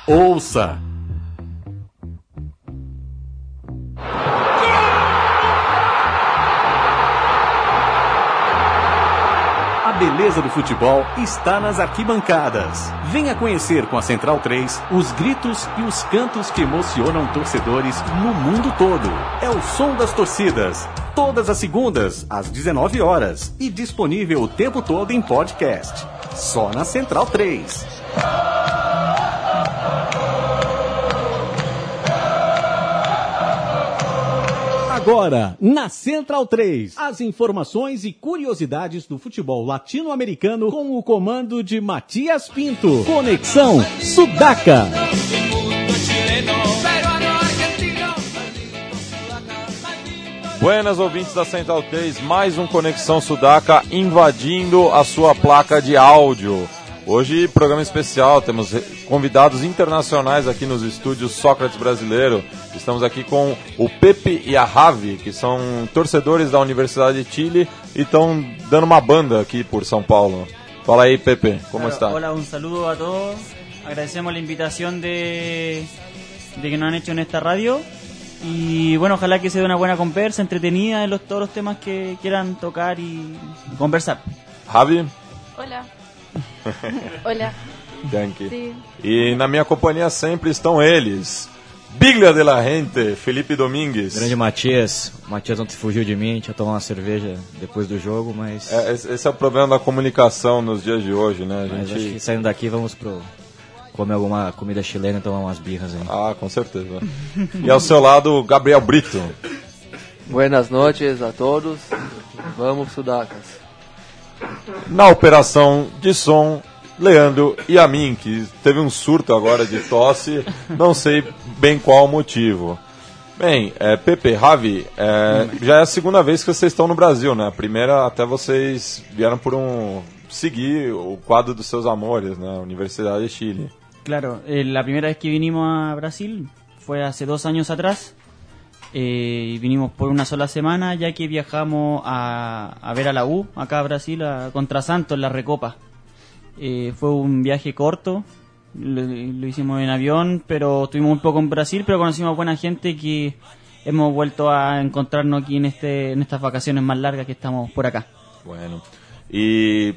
ouça. A beleza do futebol está nas arquibancadas. Venha conhecer com a Central 3 os gritos e os cantos que emocionam torcedores no mundo todo. É o som das torcidas. Todas as segundas, às 19 horas. E disponível o tempo todo em podcast. Só na Central 3. Agora, na Central 3, as informações e curiosidades do futebol latino-americano com o comando de Matias Pinto. Conexão Sudaca. Buenas, ouvintes da Central 3, mais um Conexão Sudaca invadindo a sua placa de áudio. Hoje, programa especial, temos convidados internacionais aqui nos estúdios Sócrates Brasileiro. Estamos aqui com o Pepe e a Javi, que são torcedores da Universidade de Chile e estão dando uma banda aqui por São Paulo. Fala aí, Pepe, como está? Hola, un saludo a todos. Agradecemos la invitación de que nos han hecho en esta radio. Y bueno, ojalá que sea una buena conversa, entretenida en todos los temas que quieran tocar y conversar. Javi? Hola. Hola. Thank you. Sí. E na minha companhia sempre estão eles. Biglia de la Gente, Felipe Domingues. Grande Matias. O Matias ontem fugiu de mim, tinha tomado uma cerveja depois do jogo, mas... Esse é o problema da comunicação nos dias de hoje, né? Mas acho que saindo daqui vamos comer alguma comida chilena e tomar umas birras aí. Ah, com certeza. E ao seu lado, Gabriel Brito. Buenas noches a todos. Vamos, Sudacas. Na operação de som, Leandro e a mim, que teve um surto agora de tosse, não sei bem qual o motivo. Bem, Pepe, Javi, já é a segunda vez que vocês estão no Brasil, né? A primeira até vocês vieram seguir o quadro dos seus amores, né? Universidade de Chile. Claro, la primera vez que vinimos a Brasil fue hace 2 años atrás. Vinimos por una sola semana, ya que viajamos a ver a la U, acá a Brasil, contra Santos en la Recopa. Fue un viaje corto, lo hicimos en avión, pero estuvimos un poco en Brasil, pero conocimos buena gente que hemos vuelto a encontrarnos aquí en estas vacaciones más largas que estamos por acá. Bueno, e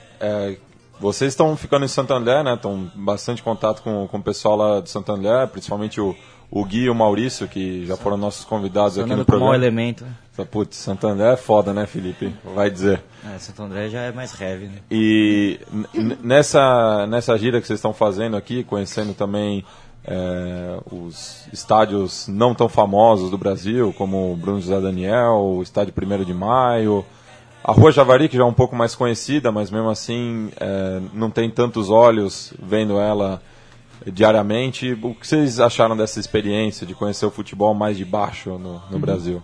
vocês estão ficando em Santo André, né? Estão bastante contato com o pessoal lá de Santo André, principalmente o Gui e o Maurício, que já foram nossos convidados aqui no programa. Mau elemento. Putz, Santo André é foda, né, Felipe? Vai dizer. Santo André já é mais heavy, né? E nessa gira que vocês estão fazendo aqui, conhecendo também os estádios não tão famosos do Brasil, como o Bruno José Daniel, o estádio 1º de Maio, a Rua Javari, que já é um pouco mais conhecida, mas mesmo assim não tem tantos olhos vendo ela diariamente. O que vocês acharam dessa experiência de conhecer o futebol mais de baixo no Brasil?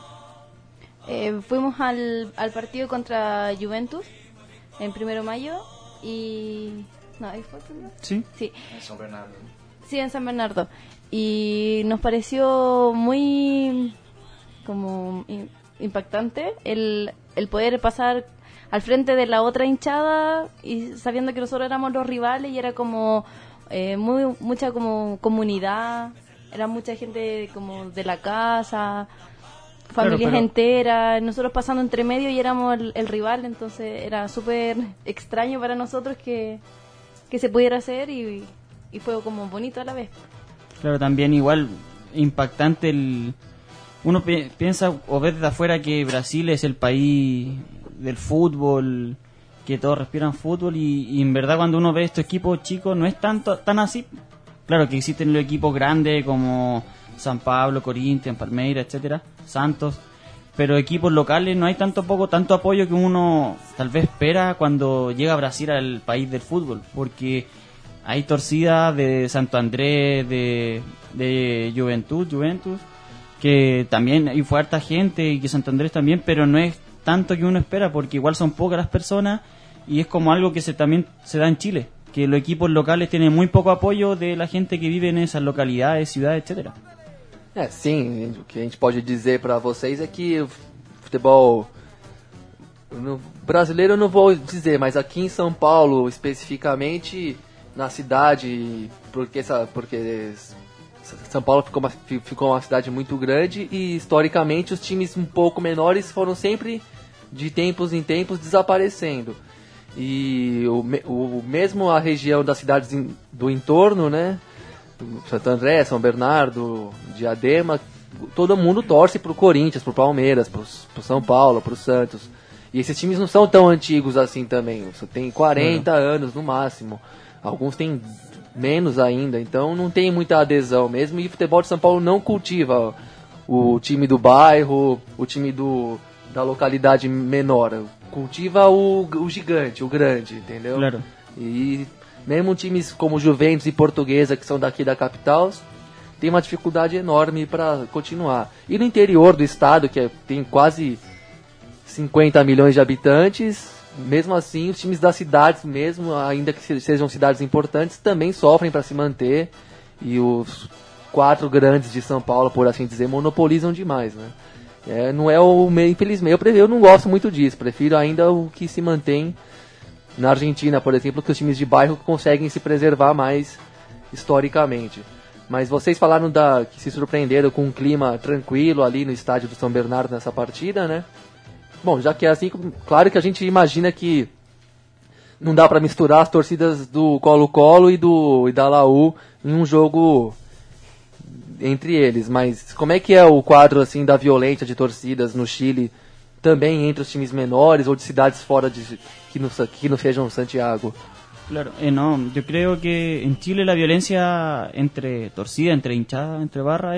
Fuimos al partido contra Juventus en 1 de mayo y... No, ¿ahí fue? Sí. Sí. En San Bernardo. Sí, en San Bernardo. Y nos pareció muy como impactante el poder pasar al frente de la otra hinchada y sabiendo que nosotros éramos los rivales y era como mucha como comunidad, era mucha gente como de la casa, familias enteras, nosotros pasando entre medio y éramos el rival, entonces era súper extraño para nosotros que se pudiera hacer y fue como bonito a la vez. Claro, también igual impactante uno piensa o ve desde afuera que Brasil es el país del fútbol, que todos respiran fútbol y en verdad cuando uno ve estos equipos chicos no es tan así. Claro que existen los equipos grandes como San Pablo, Corinthians, Palmeiras, etcétera, Santos, pero equipos locales no hay tanto apoyo que uno tal vez espera cuando llega a Brasil, al país del fútbol, porque hay torcidas de Santo Andrés, de Juventus, que también hay fue harta gente y que Santo Andrés también, pero no es tanto que uno espera porque igual son pocas las personas y es como algo que también se da en Chile, que los equipos locales tienen muy poco apoio de la gente que vive en esas localidades, ciudades, etcétera. Sim, o que a gente pode dizer para vocês é que o futebol brasileiro eu não vou dizer, mas aqui em São Paulo especificamente na cidade, porque São Paulo ficou uma cidade muito grande e historicamente os times um pouco menores foram sempre de tempos em tempos desaparecendo. E mesmo a região das cidades do entorno, né, Santo André, São Bernardo, Diadema, todo mundo torce pro Corinthians, pro Palmeiras, pro São Paulo, pro Santos. E esses times não são tão antigos assim também, tem 40 anos no máximo, alguns têm menos ainda, então não tem muita adesão mesmo, e o futebol de São Paulo não cultiva o time do bairro, o time da localidade menor, cultiva o gigante, o grande, entendeu? Claro. E mesmo times como Juventus e Portuguesa, que são daqui da capital, tem uma dificuldade enorme para continuar. E no interior do estado, que tem quase 50 milhões de habitantes, mesmo assim, os times das cidades mesmo, ainda que sejam cidades importantes, também sofrem para se manter. E os 4 grandes de São Paulo, por assim dizer, monopolizam demais, né? Não é o meio, infelizmente, eu não gosto muito disso. Prefiro ainda o que se mantém na Argentina, por exemplo, que os times de bairro conseguem se preservar mais historicamente. Mas vocês falaram que se surpreenderam com um clima tranquilo ali no estádio do São Bernardo nessa partida, né? Bom, já que é assim, claro que a gente imagina que não dá para misturar as torcidas do Colo-Colo e da Laú em um jogo entre eles, mas como é que é o quadro assim da violência de torcidas no Chile, também entre os times menores ou de cidades fora que no sejam Santiago? Claro, no, yo creo que en Chile la violencia entre torcida, entre hinchada, entre barra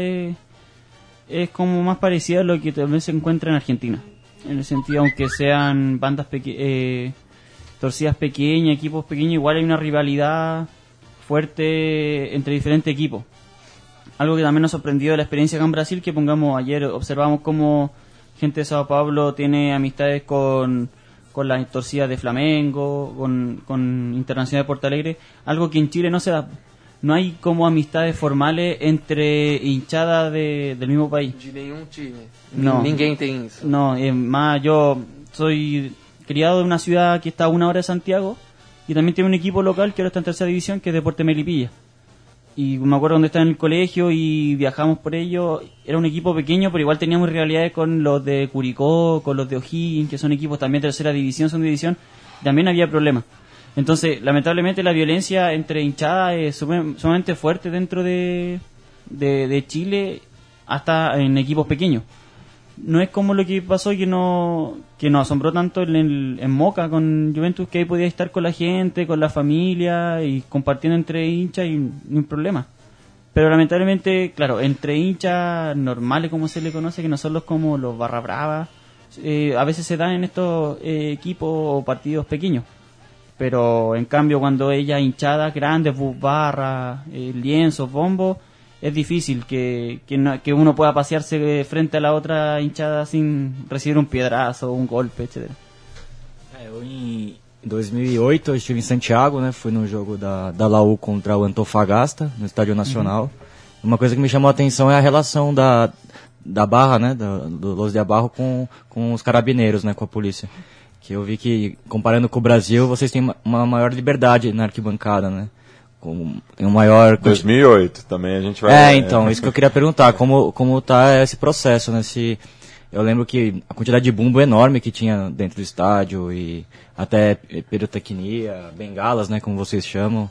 es como más parecida a lo que también se encuentra en Argentina. En el sentido, aunque sean bandas torcidas pequeñas, equipos pequeños, igual hay una rivalidad fuerte entre diferentes equipos. Algo que también nos sorprendió de la experiencia acá en Brasil, que ayer observamos cómo gente de Sao Paulo tiene amistades con las torcidas de Flamengo, con Internacional de Porto Alegre, algo que en Chile no se da. No hay como amistades formales entre hinchadas del mismo país. De nenhum time. No. Ninguém tem isso. No, es más, yo soy criado de una ciudad que está a 1 hora de Santiago y también tiene un equipo local que ahora está en 3ª división, que es Deportes Melipilla. Y me acuerdo donde estaba en el colegio y viajamos por ello. Era un equipo pequeño, pero igual teníamos rivalidades con los de Curicó, con los de O'Higgins, que son equipos también de 3ª división, son de división. También había problemas. Entonces, lamentablemente, la violencia entre hinchadas es sumamente fuerte dentro de Chile, hasta en equipos pequeños. No es como lo que pasó que nos asombró tanto en Moca con Juventus, que ahí podía estar con la gente, con la familia y compartiendo entre hinchas y ni un problema. Pero lamentablemente, claro, entre hinchas normales, como se le conoce, que no son como los barra bravas, a veces se dan en estos equipos o partidos pequeños. Pero en cambio, cuando ella hinchadas grandes, bus barra, lienzos, bombos, es difícil que uno pueda pasearse frente a la otra hinchada sin recibir un piedrazo, un golpe, etc. Eu em 2008 eu estive em Santiago, né? Fui no jogo da Laú contra o Antofagasta, no Estádio Nacional. Uma coisa que me chamou a atenção é a relação da Barra, né? Do Los de Abarro com os carabineiros, né? Com a polícia. Que eu vi que, comparando com o Brasil, vocês têm uma maior liberdade na arquibancada, né? Tem um maior... 2008 também a gente vai... então, isso que eu queria perguntar, como tá esse processo, né? Eu lembro que a quantidade de bumbo enorme que tinha dentro do estádio e até pirotecnia, bengalas, né? Como vocês chamam,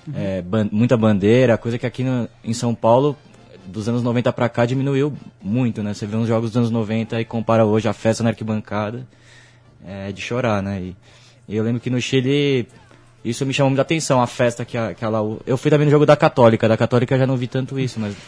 muita bandeira, coisa que aqui em São Paulo, dos anos 90 pra cá, diminuiu muito, né? Você vê uns jogos dos anos 90 e compara hoje a festa na arquibancada, é de chorar, né? E eu lembro que no Chile... Isso me chamou muita atenção, a festa que a Laú... Eu fui também no jogo da Católica já não vi tanto isso, mas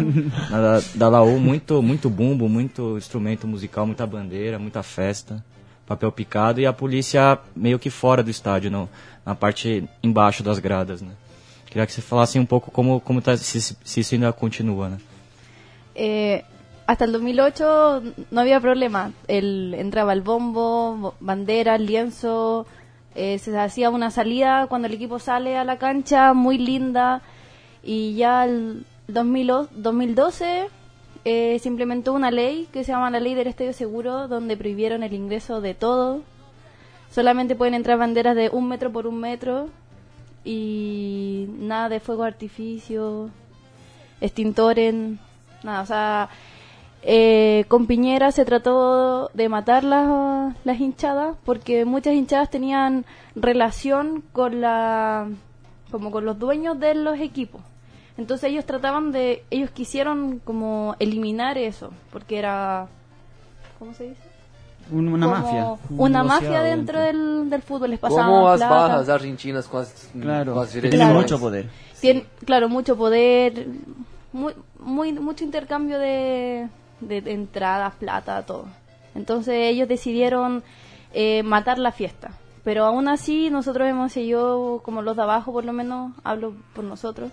da Laú muito bumbo, muito instrumento musical, muita bandeira, muita festa, papel picado e a polícia meio que fora do estádio, na parte embaixo das gradas, né? Queria que você falasse um pouco como tá, se isso ainda continua, né? Hasta el 2008 no había problema, entraba el bombo, bandera, lienzo... se hacía una salida cuando el equipo sale a la cancha muy linda, y ya el 2012 se implementó una ley que se llama la ley del estadio seguro, donde prohibieron el ingreso de todo. Solamente pueden entrar banderas de 1 metro por 1 metro, y nada de fuego de artificio, extintores, nada, o sea, con Piñera se trató de matar las hinchadas porque muchas hinchadas tenían relación con como con los dueños de los equipos. Entonces ellos quisieron como eliminar eso, porque era, ¿cómo se dice? Una mafia. Una mafia dentro del fútbol. Les pasaban como as plata. barras argentinas com as Que tienen mucho poder. Claro, mucho poder, mucho intercambio de entradas, plata, todo. Entonces ellos decidieron matar la fiesta. Pero aún así nosotros hemos seguido, como los de abajo por lo menos, hablo por nosotros,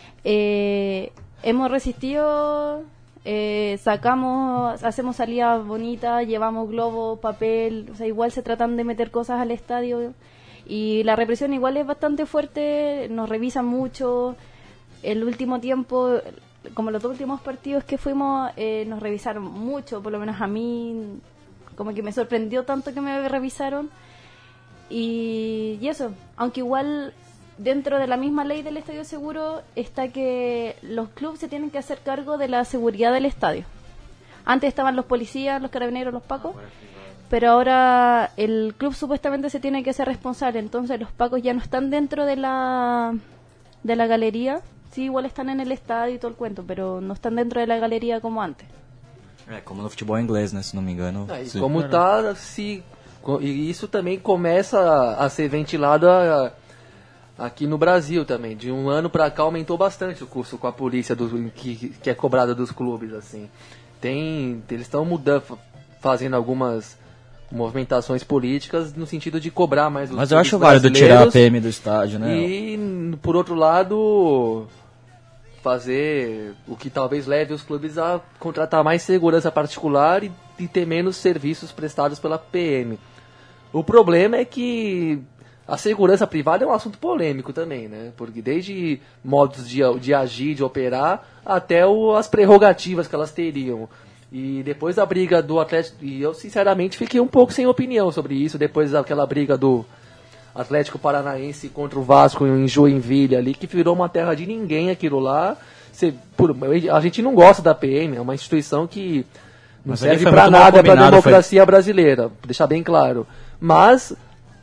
hemos resistido, hacemos salidas bonitas, llevamos globos, papel, o sea, igual se tratan de meter cosas al estadio y la represión igual es bastante fuerte, nos revisan mucho. El último tiempo, como los dos últimos partidos que fuimos, nos revisaron mucho, por lo menos a mí, como que me sorprendió tanto que me revisaron. Y eso, aunque igual dentro de la misma ley del estadio seguro está que los clubes se tienen que hacer cargo de la seguridad del estadio. Antes estaban los policías, los carabineros, los pacos, pero ahora el club supuestamente se tiene que hacer responsable, entonces los pacos ya no están dentro de la galería, sí, igual están en el estadio y todo el cuento, pero no están dentro de la galería como antes. Como no futebol inglês, né, se não me engano. E como tá, e isso também começa a ser ventilado aqui no Brasil também. De um ano para cá aumentou bastante o custo com a polícia que é cobrada dos clubes, assim. Eles estão fazendo algumas movimentações políticas no sentido de cobrar mais os Mas eu clubes acho válido tirar a PM do estádio, né? E, por outro lado, fazer o que talvez leve os clubes a contratar mais segurança particular e ter menos serviços prestados pela PM. O problema é que a segurança privada é um assunto polêmico também, né? Porque desde modos de agir, de operar, até as prerrogativas que elas teriam. E depois da briga do Atlético, e eu sinceramente fiquei um pouco sem opinião sobre isso, depois daquela briga do Atlético Paranaense contra o Vasco em Joinville ali, que virou uma terra de ninguém aquilo lá. A gente não gosta da PM, é uma instituição que não serve para nada para a democracia brasileira, deixar bem claro. Mas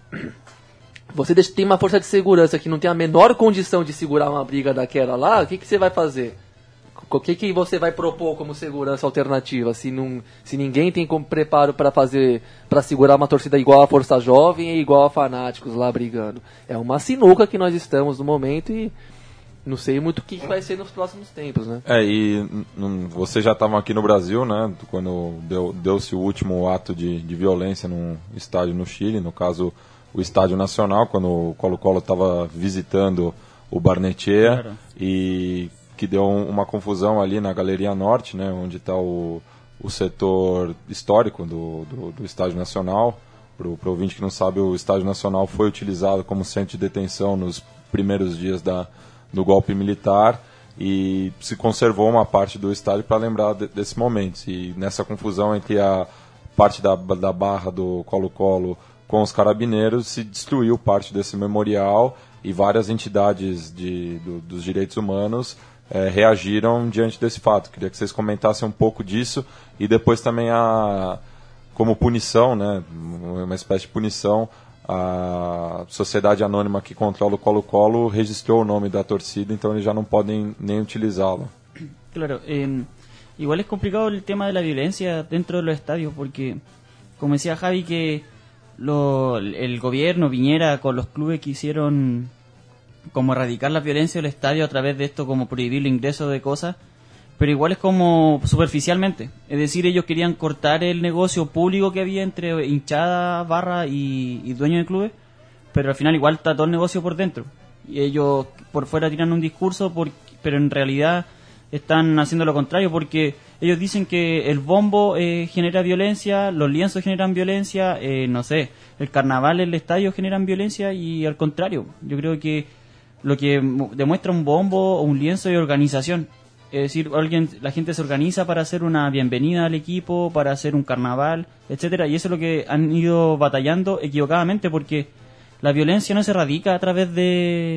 você tem uma força de segurança que não tem a menor condição de segurar uma briga daquela lá, o que você vai fazer? O que você vai propor como segurança alternativa se ninguém tem como preparo para segurar uma torcida igual a Força Jovem e igual a Fanáticos lá brigando? É uma sinuca que nós estamos no momento e não sei muito o que vai ser nos próximos tempos, né? Vocês já estavam aqui no Brasil, né? Quando deu-se o último ato de violência num estádio no Chile, no caso o Estádio Nacional, quando o Colo-Colo estava visitando o Barnechea e que deu uma confusão ali na Galeria Norte, né? Onde está o setor histórico do Estádio Nacional. Para o ouvinte que não sabe, o Estádio Nacional foi utilizado como centro de detenção nos primeiros dias do golpe militar e se conservou uma parte do estádio para lembrar desses momentos. E nessa confusão entre a parte da barra do Colo-Colo com os carabineiros, se destruiu parte desse memorial e várias entidades dos direitos humanos reagiram diante desse fato. Queria que vocês comentassem um pouco disso e depois também como punição, né, uma espécie de punição, a Sociedade Anônima que controla o Colo-Colo registrou o nome da torcida, então eles já não podem nem utilizá-lo. Claro, igual es complicado el tema de la violencia dentro de los estadios, porque, como decía Javi, que el gobierno, Piñera, con los clubes quisieron como erradicar la violencia del estadio a través de esto, como prohibir el ingreso de cosas, pero igual es como superficialmente. Es decir, ellos querían cortar el negocio público que había entre hinchada, barra y dueños de clubes, pero al final igual está todo el negocio por dentro. Y ellos por fuera tiran un discurso, pero en realidad están haciendo lo contrario, porque ellos dicen que el bombo genera violencia, los lienzos generan violencia, no sé, el carnaval, el estadio generan violencia, y al contrario, yo creo que lo que demuestra un bombo o un lienzo es organización. Es decir, la gente se organiza para hacer una bienvenida al equipo, para hacer un carnaval, etcétera, y eso es lo que han ido batallando equivocadamente, porque la violencia no se radica a través de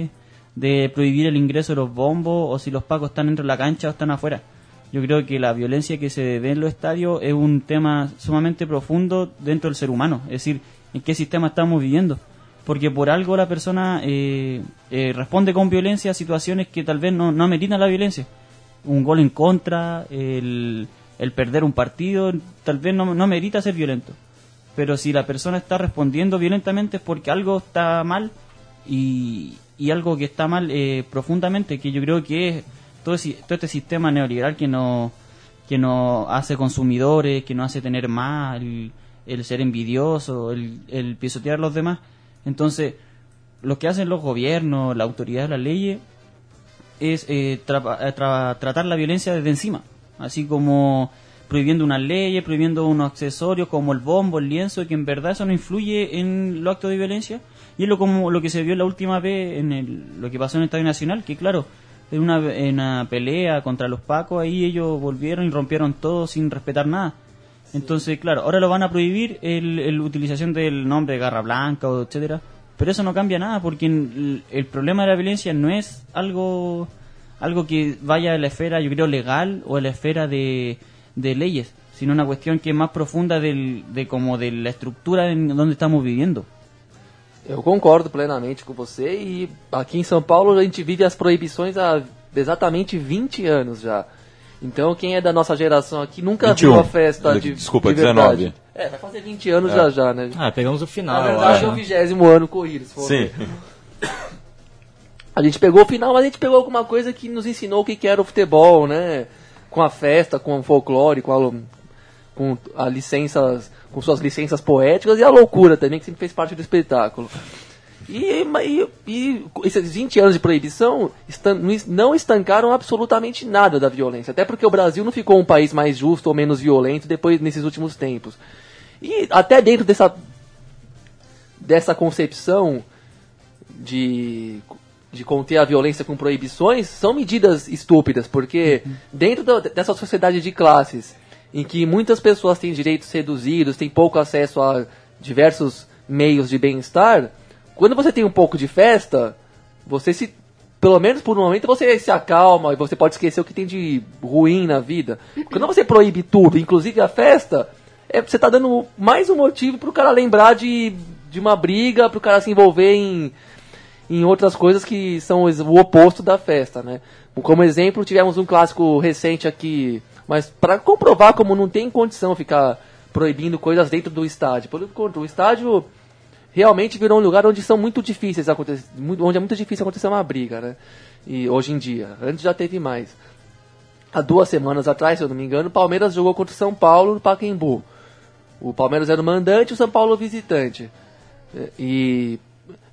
de prohibir el ingreso de los bombos o si los pacos están dentro de la cancha o están afuera. Yo creo que la violencia que se ve en los estadios es un tema sumamente profundo dentro del ser humano, es decir, en qué sistema estamos viviendo. Porque por algo la persona responde con violencia a situaciones que tal vez no ameritan la violencia. Un gol en contra, el perder un partido, tal vez no merita ser violento. Pero si la persona está respondiendo violentamente es porque algo está mal y algo que está mal profundamente, que yo creo que es todo este sistema neoliberal que nos hace consumidores, que nos hace tener más, el ser envidioso, el pisotear a los demás. Entonces, lo que hacen los gobiernos, la autoridad de las leyes, es tratar la violencia desde encima, así como prohibiendo unas leyes, prohibiendo unos accesorios como el bombo, el lienzo, que en verdad eso no influye en los actos de violencia, y es lo que se vio la última vez lo que pasó en el Estadio Nacional, que claro, en una pelea contra los pacos, ahí ellos volvieron y rompieron todo sin respetar nada. Entonces, claro, ahora lo van a prohibir la utilización del nombre de Garra Blanca, o etcétera, pero eso no cambia nada, porque el problema de la violencia no es algo que vaya a la esfera, yo creo, legal o a la esfera de leyes, sino una cuestión que es más profunda de la estructura en donde estamos viviendo. Eu concordo plenamente com você, e aqui em São Paulo a gente vive as proibições há exatamente 20 anos já. Então quem é da nossa geração aqui nunca 21. viu a festa de Desculpa, de verdade. 19. Vai fazer 20 anos já, né? Pegamos o final. Na verdade é o 20º ano corrido, se for Sim. ver. A gente pegou o final, mas a gente pegou alguma coisa que nos ensinou o que era o futebol, né? Com a festa, com o folclore, com suas licenças poéticas, e a loucura também, que sempre fez parte do espetáculo. E esses 20 anos de proibição não estancaram absolutamente nada da violência, até porque o Brasil não ficou um país mais justo ou menos violento nesses últimos tempos. E até dentro dessa concepção de conter a violência com proibições, são medidas estúpidas, porque dentro dessa sociedade de classes, em que muitas pessoas têm direitos reduzidos, têm pouco acesso a diversos meios de bem-estar, quando você tem um pouco de festa, pelo menos por um momento, você se acalma e você pode esquecer o que tem de ruim na vida. Quando você proíbe tudo, inclusive a festa, você está dando mais um motivo para o cara lembrar de uma briga, para o cara se envolver em outras coisas que são o oposto da festa, né? Como exemplo, tivemos um clássico recente aqui, mas para comprovar como não tem condição ficar proibindo coisas dentro do estádio. Por enquanto, o estádio realmente virou um lugar onde são muito difíceis onde é muito difícil acontecer uma briga, né? E hoje em dia, antes já teve mais. Há 2 semanas atrás, se eu não me engano, o Palmeiras jogou contra o São Paulo no Pacaembu. O Palmeiras era o mandante e o São Paulo o visitante. E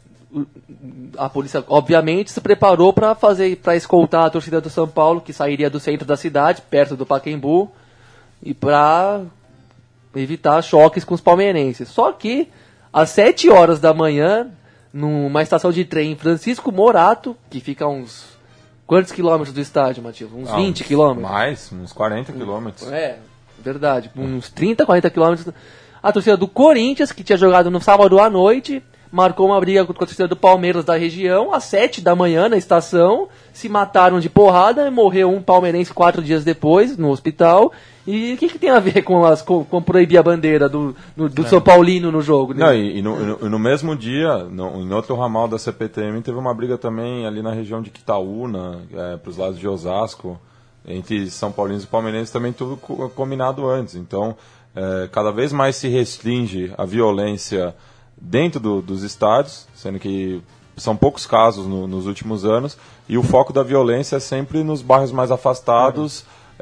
a polícia, obviamente, se preparou para escoltar a torcida do São Paulo, que sairia do centro da cidade, perto do Pacaembu, e para evitar choques com os palmeirenses. Só que às 7 horas da manhã, numa estação de trem em Francisco Morato, que fica a uns... Quantos quilômetros do estádio, Matias? Uns 20 quilômetros? Mais, uns 40 quilômetros. Verdade. Uns 30, 40 quilômetros. A torcida do Corinthians, que tinha jogado no sábado à noite, marcou uma briga com a torcida do Palmeiras da região, às 7 da manhã na estação, se mataram de porrada, morreu um palmeirense 4 dias depois, no hospital. E o que tem a ver com proibir a bandeira do São Paulino no jogo? Né? Não, e no mesmo dia, em outro ramal da CPTM, teve uma briga também ali na região de Quitaúna, para os lados de Osasco, entre São Paulinos e palmeirenses, também tudo combinado antes. Então, cada vez mais se restringe a violência dentro dos estádios, sendo que são poucos casos nos últimos anos, e o foco da violência é sempre nos bairros mais afastados.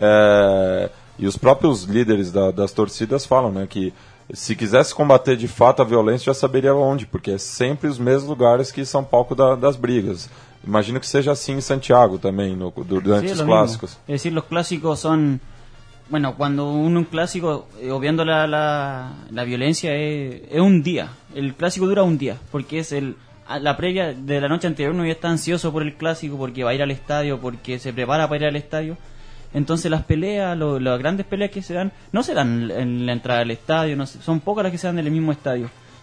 E os próprios líderes das torcidas falam, né, que se quisesse combater de fato a violência, já saberia onde, porque é sempre os mesmos lugares que são palco das brigas. Imagino que seja assim em Santiago também, durante os clássicos. Es decir, los clásicos son... Bueno, cuando un clásico, obviando la violencia, es un día. El clásico dura un día, porque es la previa de la noche anterior. Uno ya está ansioso por el clásico, porque va a ir al estadio, porque se prepara para ir al estadio. Entonces las peleas, las grandes peleas que se dan, no se dan en la entrada del estadio, son pocas las que se dan en el mismo estadio.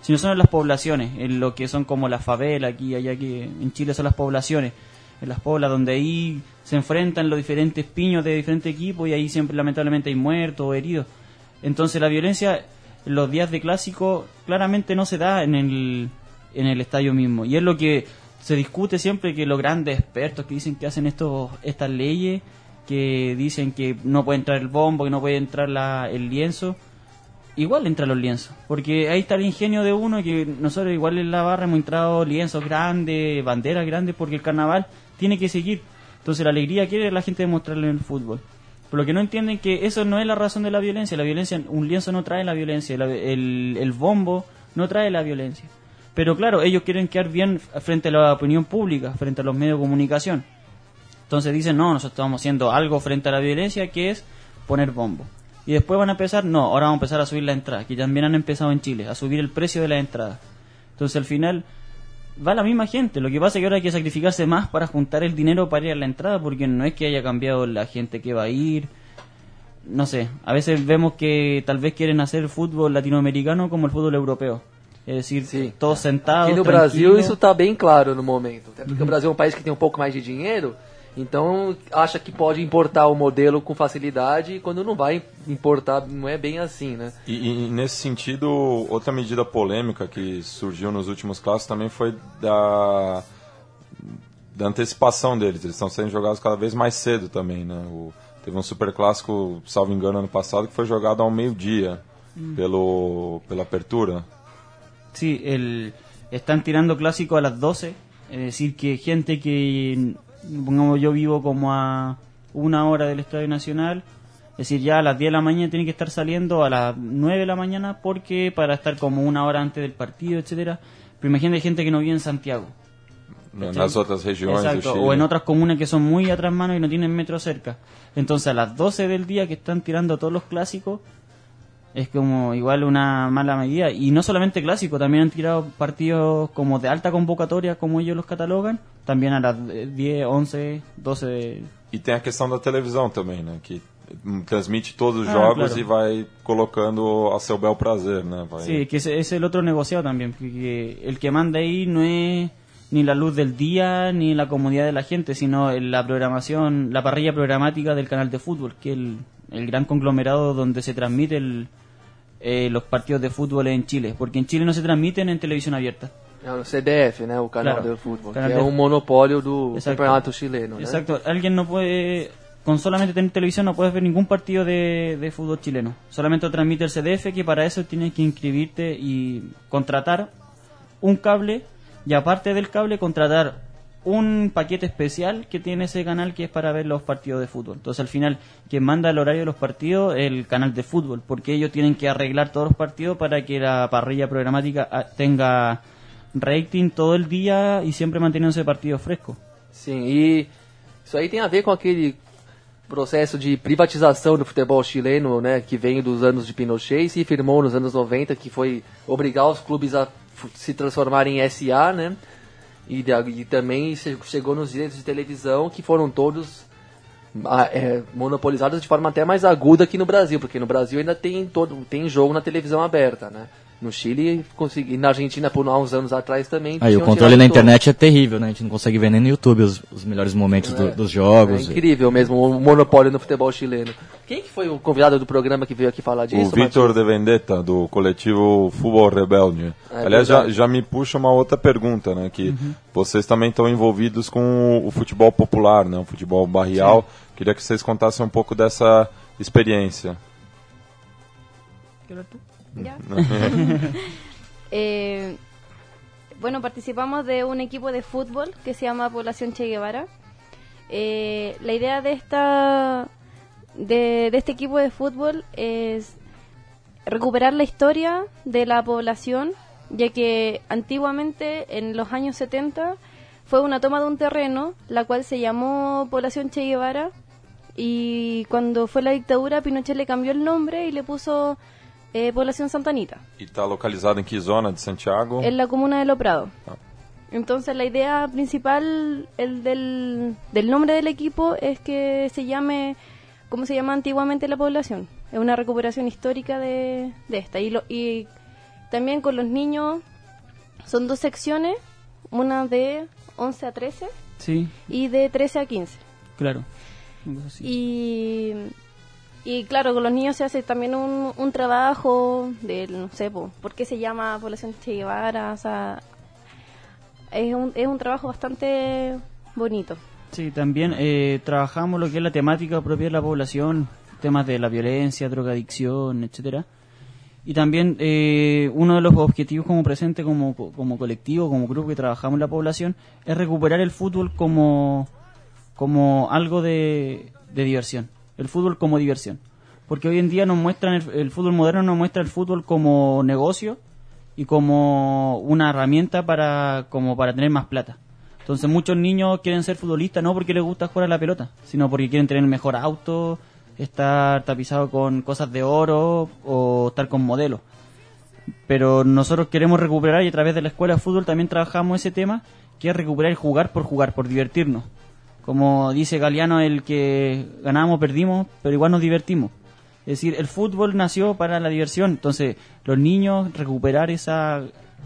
sino son en las poblaciones, en lo que son como las favelas aquí y allá, que en Chile son las poblaciones, en las poblas donde ahí se enfrentan los diferentes piños de diferentes equipos y ahí siempre lamentablemente hay muertos o heridos. Entonces la violencia en los días de clásico claramente no se da en el estadio mismo, y es lo que se discute siempre, que los grandes expertos que dicen que hacen estas leyes, que dicen que no puede entrar el bombo, que no puede entrar el lienzo, igual entran los lienzos, porque ahí está el ingenio de uno, que nosotros igual en la barra hemos entrado lienzos grandes, banderas grandes, porque el carnaval tiene que seguir. Entonces la alegría quiere la gente demostrarlo en el fútbol. Por lo que no entienden que eso no es la razón de la violencia, un lienzo no trae la violencia, el bombo no trae la violencia. Pero claro, ellos quieren quedar bien frente a la opinión pública, frente a los medios de comunicación. Entonces dicen, no, nosotros estamos haciendo algo frente a la violencia, que es poner bombo. Y después van a empezar, no, ahora vamos a empezar a subir la entrada, que también han empezado en Chile, a subir el precio de la entrada. Entonces al final va la misma gente, lo que pasa es que ahora hay que sacrificarse más para juntar el dinero para ir a la entrada, porque no es que haya cambiado la gente que va a ir. No sé, a veces vemos que tal vez quieren hacer el fútbol latinoamericano como el fútbol europeo. Es decir, Sim. todos sentados, Aqui no Brasil isso está bem claro no momento. Até porque o Brasil é um país que tem um pouco mais de dinheiro, então acha que pode importar o modelo com facilidade, e quando não vai importar, não é bem assim, né? E nesse sentido, outra medida polêmica que surgiu nos últimos clássicos também foi da antecipação deles. Eles estão sendo jogados cada vez mais cedo também, né? Teve um super clássico, salvo engano, ano passado, que foi jogado ao meio-dia pela apertura. Sí, están tirando clásico a las 12, es decir, que gente que, pongamos, yo vivo como a 1 hora del Estadio Nacional, es decir, ya a las 10 de la mañana tiene que estar saliendo a las 9 de la mañana porque para estar como 1 hora antes del partido, etcétera. Pero imagínate gente que no vive en Santiago. En las otras regiones Exacto, de Chile. o en otras comunas que son muy atrás mano y no tienen metro cerca. Entonces a las 12 del día que están tirando todos los clásicos, es como igual una mala medida. Y no solamente clásico, también han tirado partidos como de alta convocatoria, como ellos los catalogan, también a las 10, 11, 12 E tem a questão da televisão também, né? Que transmite todos os Ah, jogos claro. e vai colocando a seu bel prazer, né? Vai... Sí, que ese es el otro negociado también, que el que manda ahí no es ni la luz del día ni la comodidad de la gente, sino la programación, la parrilla programática del canal de fútbol, que es el gran conglomerado donde se transmite los partidos de fútbol en Chile, porque en Chile no se transmiten en televisión abierta. É o CDF, né? O canal Claro. do futebol, Canal que é de- um monopólio do Exacto. campeonato chileno, né? Exacto, alguien no puede, con solamente tener televisión no puedes ver ningún partido de fútbol chileno, solamente lo transmite el CDF, que para eso tienes que inscribirte y contratar un cable, y aparte del cable contratar un paquete especial que tiene ese canal, que es para ver los partidos de fútbol. Entonces al final quien manda el horario de los partidos es el canal de fútbol, porque ellos tienen que arreglar todos los partidos para que la parrilla programática tenga rating todo el día y siempre manteniéndose partidos frescos. Sim, e isso aí tem a ver com aquele processo de privatização do futebol chileno, né, que vem dos anos de Pinochet e se firmou nos anos 90, que foi obrigar os clubes a se transformarem em SA, né, e também chegou nos direitos de televisão, que foram todos monopolizados de forma até mais aguda que no Brasil, porque no Brasil ainda tem jogo na televisão aberta, né. No Chile, e na Argentina, por há uns anos atrás também. Aí o tinham controle tirado na todos. internet é terrível, né? A gente não consegue ver nem no YouTube os melhores momentos dos É jogos. incrível mesmo o monopólio no futebol chileno. Quem que foi o convidado do programa que veio aqui falar disso? O Vitor de Vendetta, do coletivo Futebol Rebelde. Aliás, já me puxa uma outra pergunta, né? Que vocês também estão envolvidos com o futebol popular, né? O futebol barrial. Sim. Queria que vocês contassem um pouco dessa experiência. ¿Ya? Bueno, participamos de un equipo de fútbol que se llama Población Che Guevara. La idea de este equipo de fútbol es recuperar la historia de la población, ya que antiguamente, en los años 70, fue una toma de un terreno, la cual se llamó Población Che Guevara, y cuando fue la dictadura, Pinochet le cambió el nombre y le puso Población Santa Anita. E está localizado en qué zona de Santiago? En la comuna de Loprado. Ah. Entonces la idea principal del nombre del equipo es que se llame como se llama antiguamente la población. Es una recuperación histórica de esta. Y también con los niños son 2 secciones, una de 11 a 13 Sí, y de 13 a 15. claro. Una cosa así. Y claro, con los niños se hace también un trabajo de, no sé, ¿por qué se llama Población Che Guevara? O sea, es un trabajo bastante bonito. Sí, también trabajamos lo que es la temática propia de la población, temas de la violencia, drogadicción, etcétera. Y también uno de los objetivos como presente, como colectivo, como grupo que trabajamos en la población, es recuperar el fútbol como algo de diversión. El fútbol como diversión. Porque hoy en día nos muestran el fútbol moderno nos muestra el fútbol como negocio y como una herramienta para tener más plata. Entonces muchos niños quieren ser futbolistas no porque les gusta jugar a la pelota, sino porque quieren tener mejor auto, estar tapizado con cosas de oro o estar con modelos. Pero nosotros queremos recuperar y a través de la escuela de fútbol también trabajamos ese tema, que es recuperar el jugar, por divertirnos. Como dice Galeano, el que ganamos, perdimos, pero igual nos divertimos. Es decir, el fútbol nació para la diversión, entonces los niños recuperar esa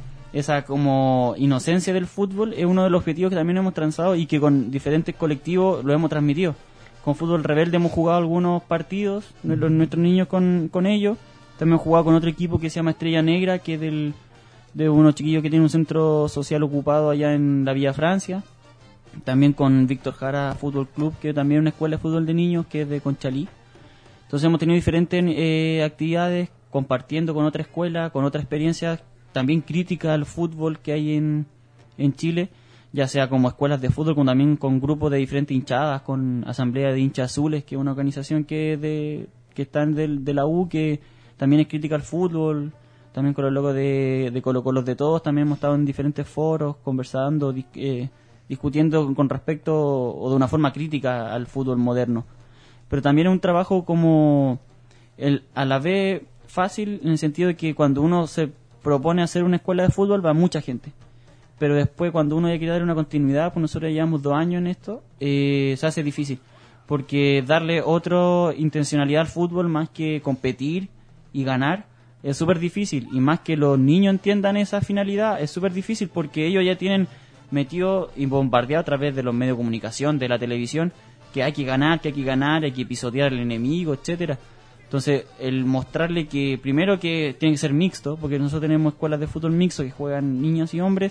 como inocencia del fútbol es uno de los objetivos que también hemos trazado y que con diferentes colectivos lo hemos transmitido. Con Fútbol Rebelde hemos jugado algunos partidos, nuestros niños con ellos. También hemos jugado con otro equipo que se llama Estrella Negra, que es de unos chiquillos que tienen un centro social ocupado allá en la Villa Francia. También con Víctor Jara Fútbol Club, que también es una escuela de fútbol de niños, que es de Conchalí. Entonces hemos tenido diferentes actividades, compartiendo con otra escuela, con otra experiencia, también crítica al fútbol que hay en Chile, ya sea como escuelas de fútbol, como también con grupos de diferentes hinchadas, con Asamblea de Hinchas Azules, que es una organización que está de la U, que también es crítica al fútbol, también con los logos de Colo Colos de Todos, también hemos estado en diferentes foros, conversando, discutiendo con respecto o de una forma crítica al fútbol moderno. Pero también es un trabajo como a la vez fácil, en el sentido de que cuando uno se propone hacer una escuela de fútbol va mucha gente, pero después cuando uno ya quiere darle una continuidad, pues nosotros llevamos 2 años en esto, se hace difícil, porque darle otra intencionalidad al fútbol más que competir y ganar es súper difícil, y más que los niños entiendan esa finalidad es súper difícil, porque ellos ya tienen metido y bombardeado a través de los medios de comunicación, de la televisión, que hay que ganar, hay que pisotear al enemigo, etcétera. Entonces, el mostrarle que, primero que tiene que ser mixto, porque nosotros tenemos escuelas de fútbol mixto que juegan niños y hombres,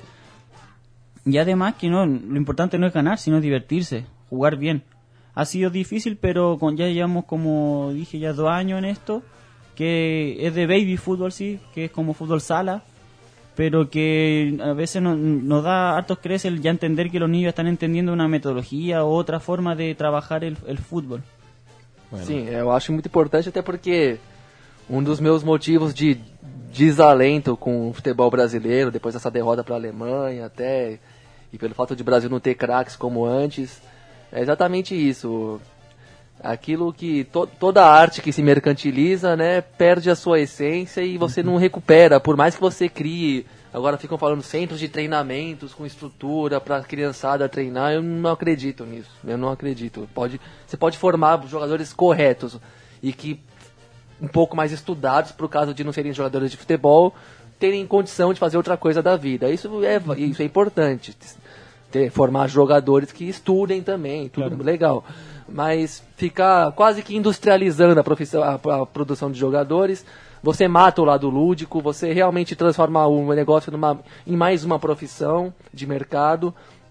y además que no, lo importante no es ganar, sino divertirse, jugar bien. Ha sido difícil, pero ya llevamos, como dije, ya 2 años en esto, que es de baby fútbol, sí, que es como fútbol sala, pero que a veces nos da hartos creces el ya entender que los niños están entendiendo una metodología o otra forma de trabajar el fútbol. Bueno. Sim, eu acho muito importante, até porque dos meus motivos de desalento com o futebol brasileiro, depois dessa derrota para a Alemanha até, e pelo fato de o Brasil não ter craques como antes, é exatamente isso. Aquilo que toda arte que se mercantiliza, né, perde a sua essência e você não recupera, por mais que você crie. Agora ficam falando centros de treinamentos com estrutura para a criançada treinar. Eu não acredito nisso. Eu não acredito. Você pode formar jogadores corretos e que um pouco mais estudados, por causa de não serem jogadores de futebol, terem condição de fazer outra coisa da vida. Isso é importante. Formar jogadores que estudem também, tudo claro. Legal. Mas ficar quase que industrializando a produção de jogadores, você mata o lado lúdico, você realmente transforma o negócio em mais uma profissão de mercado.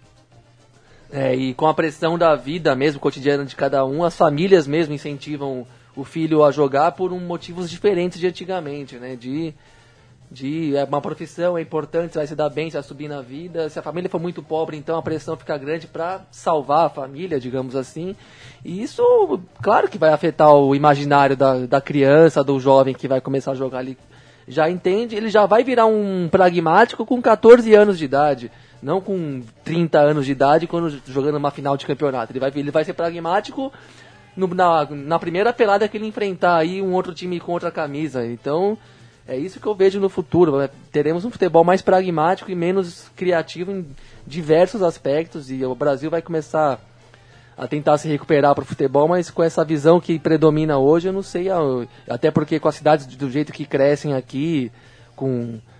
E com a pressão da vida mesmo, cotidiana de cada um, as famílias mesmo incentivam o filho a jogar por motivos diferentes de antigamente, né? É uma profissão, é importante, você vai se dar bem, você vai subir na vida. Se a família for muito pobre, então a pressão fica grande para salvar a família, digamos assim. E isso, claro que vai afetar o imaginário da criança, do jovem que vai começar a jogar ali. Já entende, ele já vai virar um pragmático com 14 anos de idade, não com 30 anos de idade quando jogando uma final de campeonato. Ele vai ser pragmático na primeira pelada que ele enfrentar aí um outro time com outra camisa. Então, é isso que eu vejo no futuro. Teremos um futebol mais pragmático e menos criativo em diversos aspectos, e o Brasil vai começar a tentar se recuperar para o futebol, mas com essa visão que predomina hoje, eu não sei, até porque com as cidades do jeito que crescem aqui, com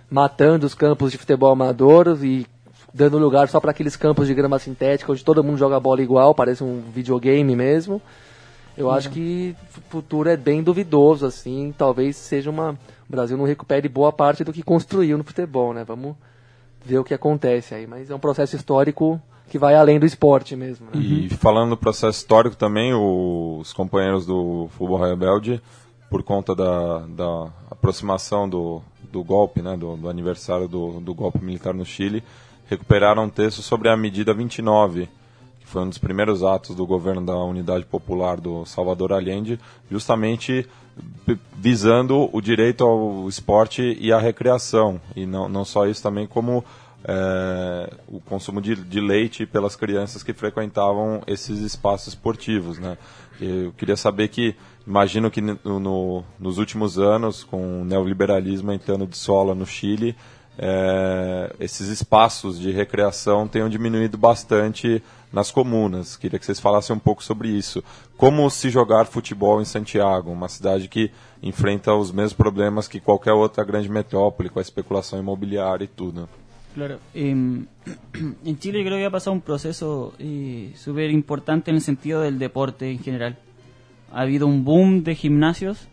matando os campos de futebol amador e dando lugar só para aqueles campos de grama sintética onde todo mundo joga bola igual, parece um videogame mesmo. Eu acho que o futuro é bem duvidoso, assim, talvez seja o Brasil não recupere boa parte do que construiu no futebol, né? Vamos ver o que acontece aí, mas é um processo histórico que vai além do esporte mesmo. Né? E falando do processo histórico também, os companheiros do Futebol Rebelde, por conta da aproximação do golpe, né, do aniversário do golpe militar no Chile, recuperaram um texto sobre a medida 29, que foi um dos primeiros atos do governo da Unidade Popular do Salvador Allende, justamente visando o direito ao esporte e à recreação. E não só isso, também como o consumo de leite pelas crianças que frequentavam esses espaços esportivos, né? Eu queria saber imagino que nos últimos anos, com o neoliberalismo entrando de sola no Chile, esses espaços de recreação tenham diminuído bastante nas comunas. Queria que vocês falassem um pouco sobre isso. Como se jogar futebol em Santiago, uma cidade que enfrenta os mesmos problemas que qualquer outra grande metrópole, com a especulação imobiliária e tudo. Claro, en Chile creo que ha pasado un proceso súper importante en el sentido del deporte en general. Ha habido un boom de gimnasios,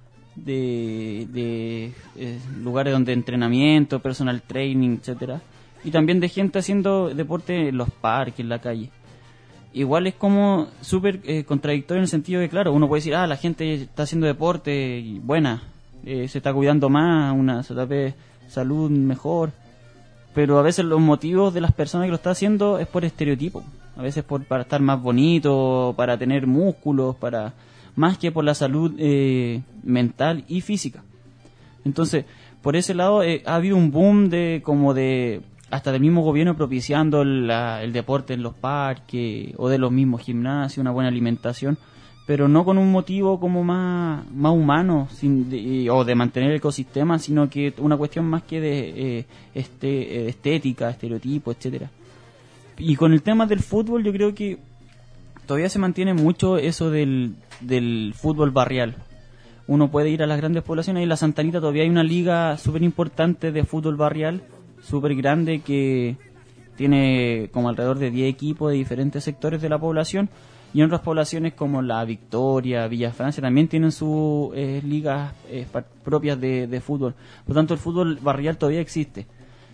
de lugares donde entrenamiento, personal training, etcétera, y también de gente haciendo deporte en los parques, en la calle. Igual es como súper contradictorio en el sentido de, claro, uno puede decir, la gente está haciendo deporte y buena, se está cuidando más, una salud mejor, pero a veces los motivos de las personas que lo están haciendo es por estereotipo, a veces para estar más bonito, para tener músculos, más que por la salud mental y física. Entonces, por ese lado ha habido un boom hasta del mismo gobierno propiciando el deporte en los parques o de los mismos gimnasios, una buena alimentación, pero no con un motivo como más humano o de mantener el ecosistema, sino que una cuestión más que de estética, estereotipo, etcétera. Y con el tema del fútbol yo creo que todavía se mantiene mucho eso del fútbol barrial. Uno puede ir a las grandes poblaciones y en la Santa Anita todavía hay una liga súper importante de fútbol barrial, súper grande, que tiene como alrededor de 10 equipos de diferentes sectores de la población, y en otras poblaciones como La Victoria, Villa Francia también tienen sus ligas propias de fútbol. Por lo tanto, el fútbol barrial todavía existe.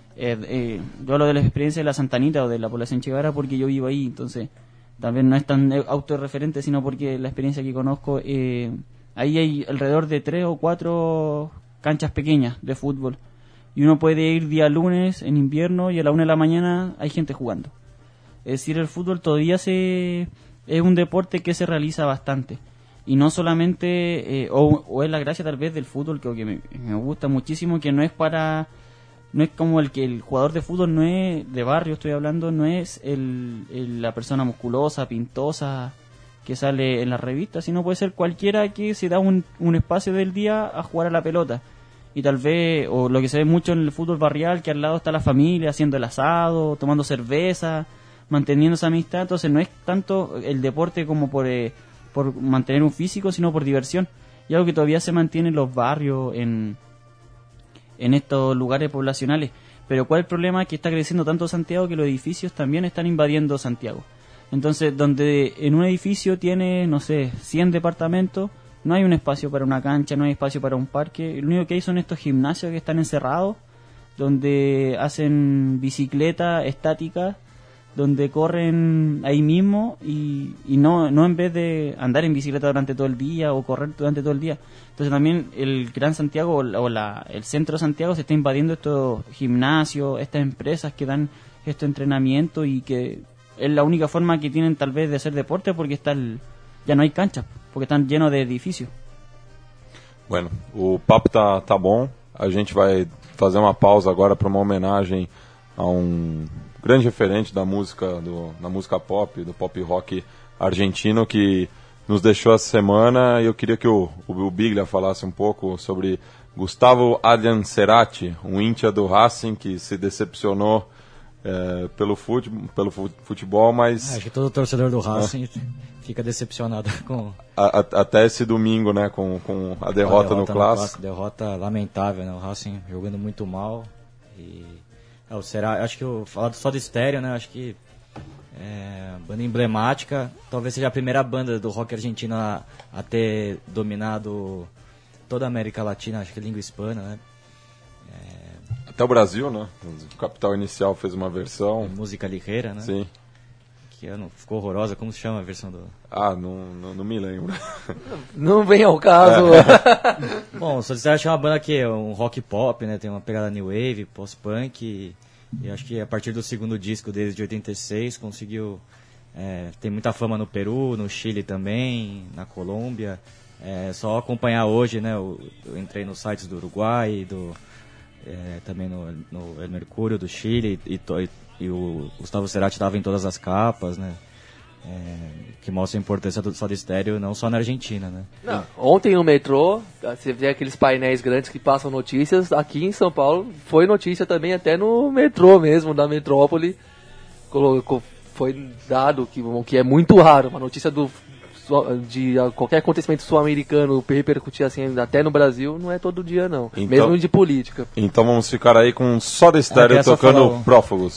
Yo hablo de la experiencia de la Santa Anita o de la población Che Guevara porque yo vivo ahí, entonces tal vez no es tan autorreferente, sino porque la experiencia que conozco, ahí hay alrededor de 3 o 4 canchas pequeñas de fútbol, y uno puede ir día lunes en invierno y a la 1 de la mañana hay gente jugando. Es decir, el fútbol todavía es un deporte que se realiza bastante, y no solamente, o es la gracia tal vez del fútbol que me gusta muchísimo, que no es como el jugador de fútbol no es de barrio, estoy hablando, no es la persona musculosa, pintosa, que sale en las revistas, sino puede ser cualquiera que se da un espacio del día a jugar a la pelota. Y tal vez, o lo que se ve mucho en el fútbol barrial, que al lado está la familia haciendo el asado, tomando cerveza, manteniendo esa amistad. Entonces no es tanto el deporte como por mantener un físico, sino por diversión. Y algo que todavía se mantiene en los barrios, en estos lugares poblacionales. Pero ¿cuál es el problema? Que está creciendo tanto Santiago que los edificios también están invadiendo Santiago. Entonces, donde en un edificio tiene, 100 departamentos, no hay un espacio para una cancha, no hay espacio para un parque. Lo único que hay son estos gimnasios que están encerrados, donde hacen bicicleta estática, donde corren ahí mismo y no en vez de andar en bicicleta durante todo el día o correr durante todo el día. Entonces también el Gran Santiago el centro de Santiago se está invadiendo estos gimnasios, estas empresas que dan este entrenamiento, y que es la única forma que tienen tal vez de hacer deporte, porque ya no hay canchas, porque están llenos de edificios. Bueno, o papo tá bom. A gente vai fazer uma pausa agora para uma homenagem a grande referente da música pop, do pop rock argentino, que nos deixou essa semana. E eu queria que o Biglia falasse um pouco sobre Gustavo Adrian Cerati, um íntia do Racing que se decepcionou pelo futebol, mas... Acho que todo torcedor do Racing fica decepcionado com... Até esse domingo, né, com a derrota no Clássico. Derrota lamentável, né, o Racing jogando muito mal. E acho que falar só de Estéreo, né, acho que banda emblemática, talvez seja a primeira banda do rock argentino a ter dominado toda a América Latina, acho que língua hispana, né. Até o Brasil, né? O Capital Inicial fez uma versão. Música ligeira, né? Sim. Que ficou horrorosa. Como se chama a versão do... Não me lembro. Não vem ao caso. Bom, o Soda Stereo é uma banda que é um rock pop, né? Tem uma pegada new wave, post-punk. E acho que a partir do segundo disco deles, de 86, conseguiu... tem muita fama no Peru, no Chile também, na Colômbia. Só acompanhar hoje, né? Eu entrei nos sites do Uruguai, também no El Mercúrio do Chile, e o Gustavo Cerati estava em todas as capas, né? Que mostra a importância do Soda Stereo não só na Argentina, né? Não, ontem no metrô, você vê aqueles painéis grandes que passam notícias, aqui em São Paulo foi notícia também até no metrô mesmo, da metrópole, foi dado que é muito raro, uma notícia de qualquer acontecimento sul-americano repercutir assim até no Brasil, não é todo dia não, então, mesmo de política. Então vamos ficar aí com Soda Stereo tocando Prófugos.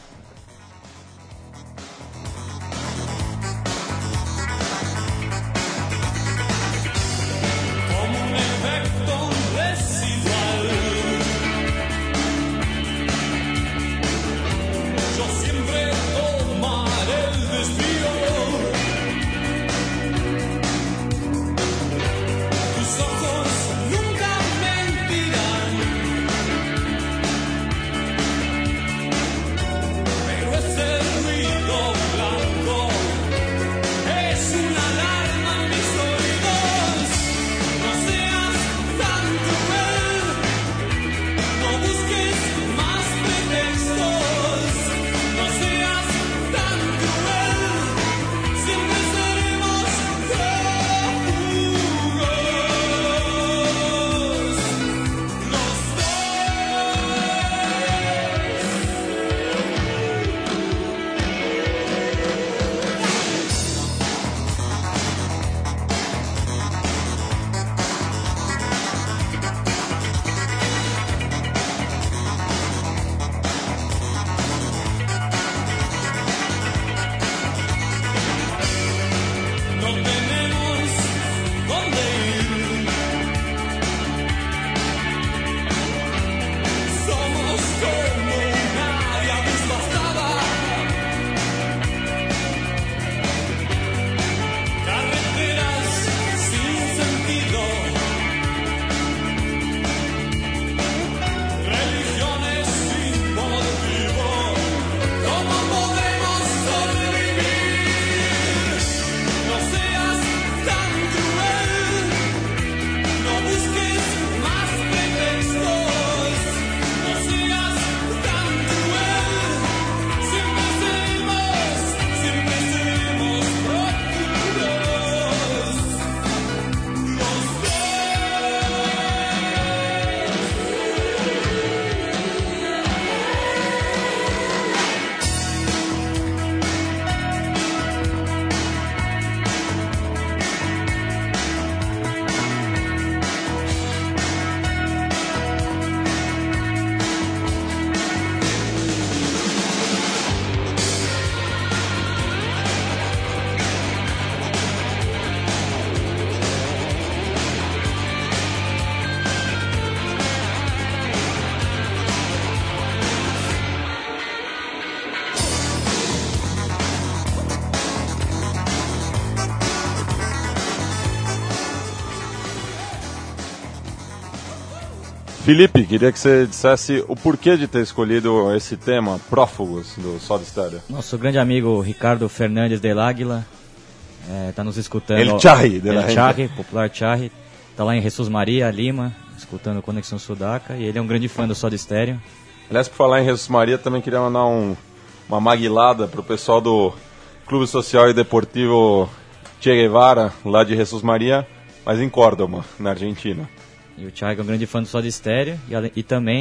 Felipe, queria que você dissesse o porquê de ter escolhido esse tema, Prófugos, do Soda Stereo. Nosso grande amigo Ricardo Fernandes del Águila está nos escutando. El Charri, popular Charri. Está lá em Jesus Maria, Lima, escutando Conexão Sudaca, e ele é um grande fã do Soda Stereo. Aliás, por falar em Jesus Maria, também queria mandar uma maguilada pro pessoal do Clube Social e Deportivo Che Guevara, lá de Jesus Maria, mas em Córdoba, na Argentina. E o Thiago é um grande fã do Soda Stereo e também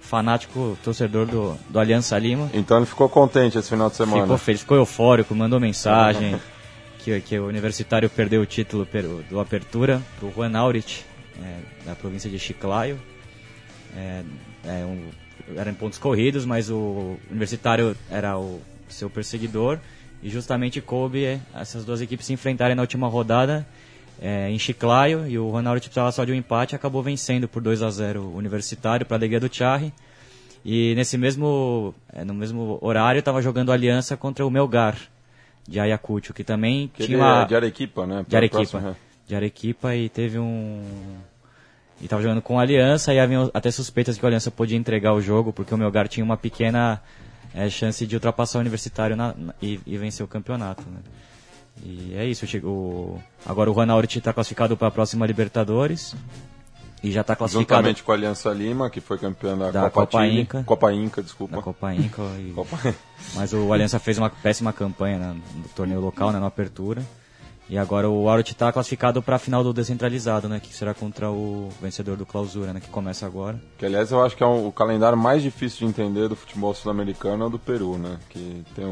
fanático torcedor do Aliança Lima. Então ele ficou contente esse final de semana. Ficou feliz, ficou eufórico, mandou mensagem que o Universitário perdeu o título do Apertura para o Juan Aurich, da província de Chiclayo. Eram pontos corridos, mas o Universitário era o seu perseguidor e justamente coube essas duas equipes se enfrentarem na última rodada em Chiclayo, e o Juan Aurich precisava só de um empate e acabou vencendo por 2-0 o Universitário para a alegria do Charri. E no mesmo horário estava jogando Aliança contra o Melgar de Ayacucho, que também tinha de Arequipa, né? De Arequipa, e teve e estava jogando com a Aliança, e havia até suspeitas que o Aliança podia entregar o jogo, porque o Melgar tinha uma pequena chance de ultrapassar o Universitário e vencer o campeonato, né? E é isso. Agora o Juan Aurich está classificado para a próxima Libertadores e já está classificado juntamente com a Aliança Lima, que foi campeã da Copa Inca. Copa Inca, desculpa. Da Copa Inca. Mas o Aliança fez uma péssima campanha no torneio local, na Apertura. E agora o Aurich está classificado para a final do Descentralizado, né, que será contra o vencedor do Clausura, né, que começa agora. Que, aliás, eu acho que é o calendário mais difícil de entender do futebol sul-americano é o do Peru, né, que tem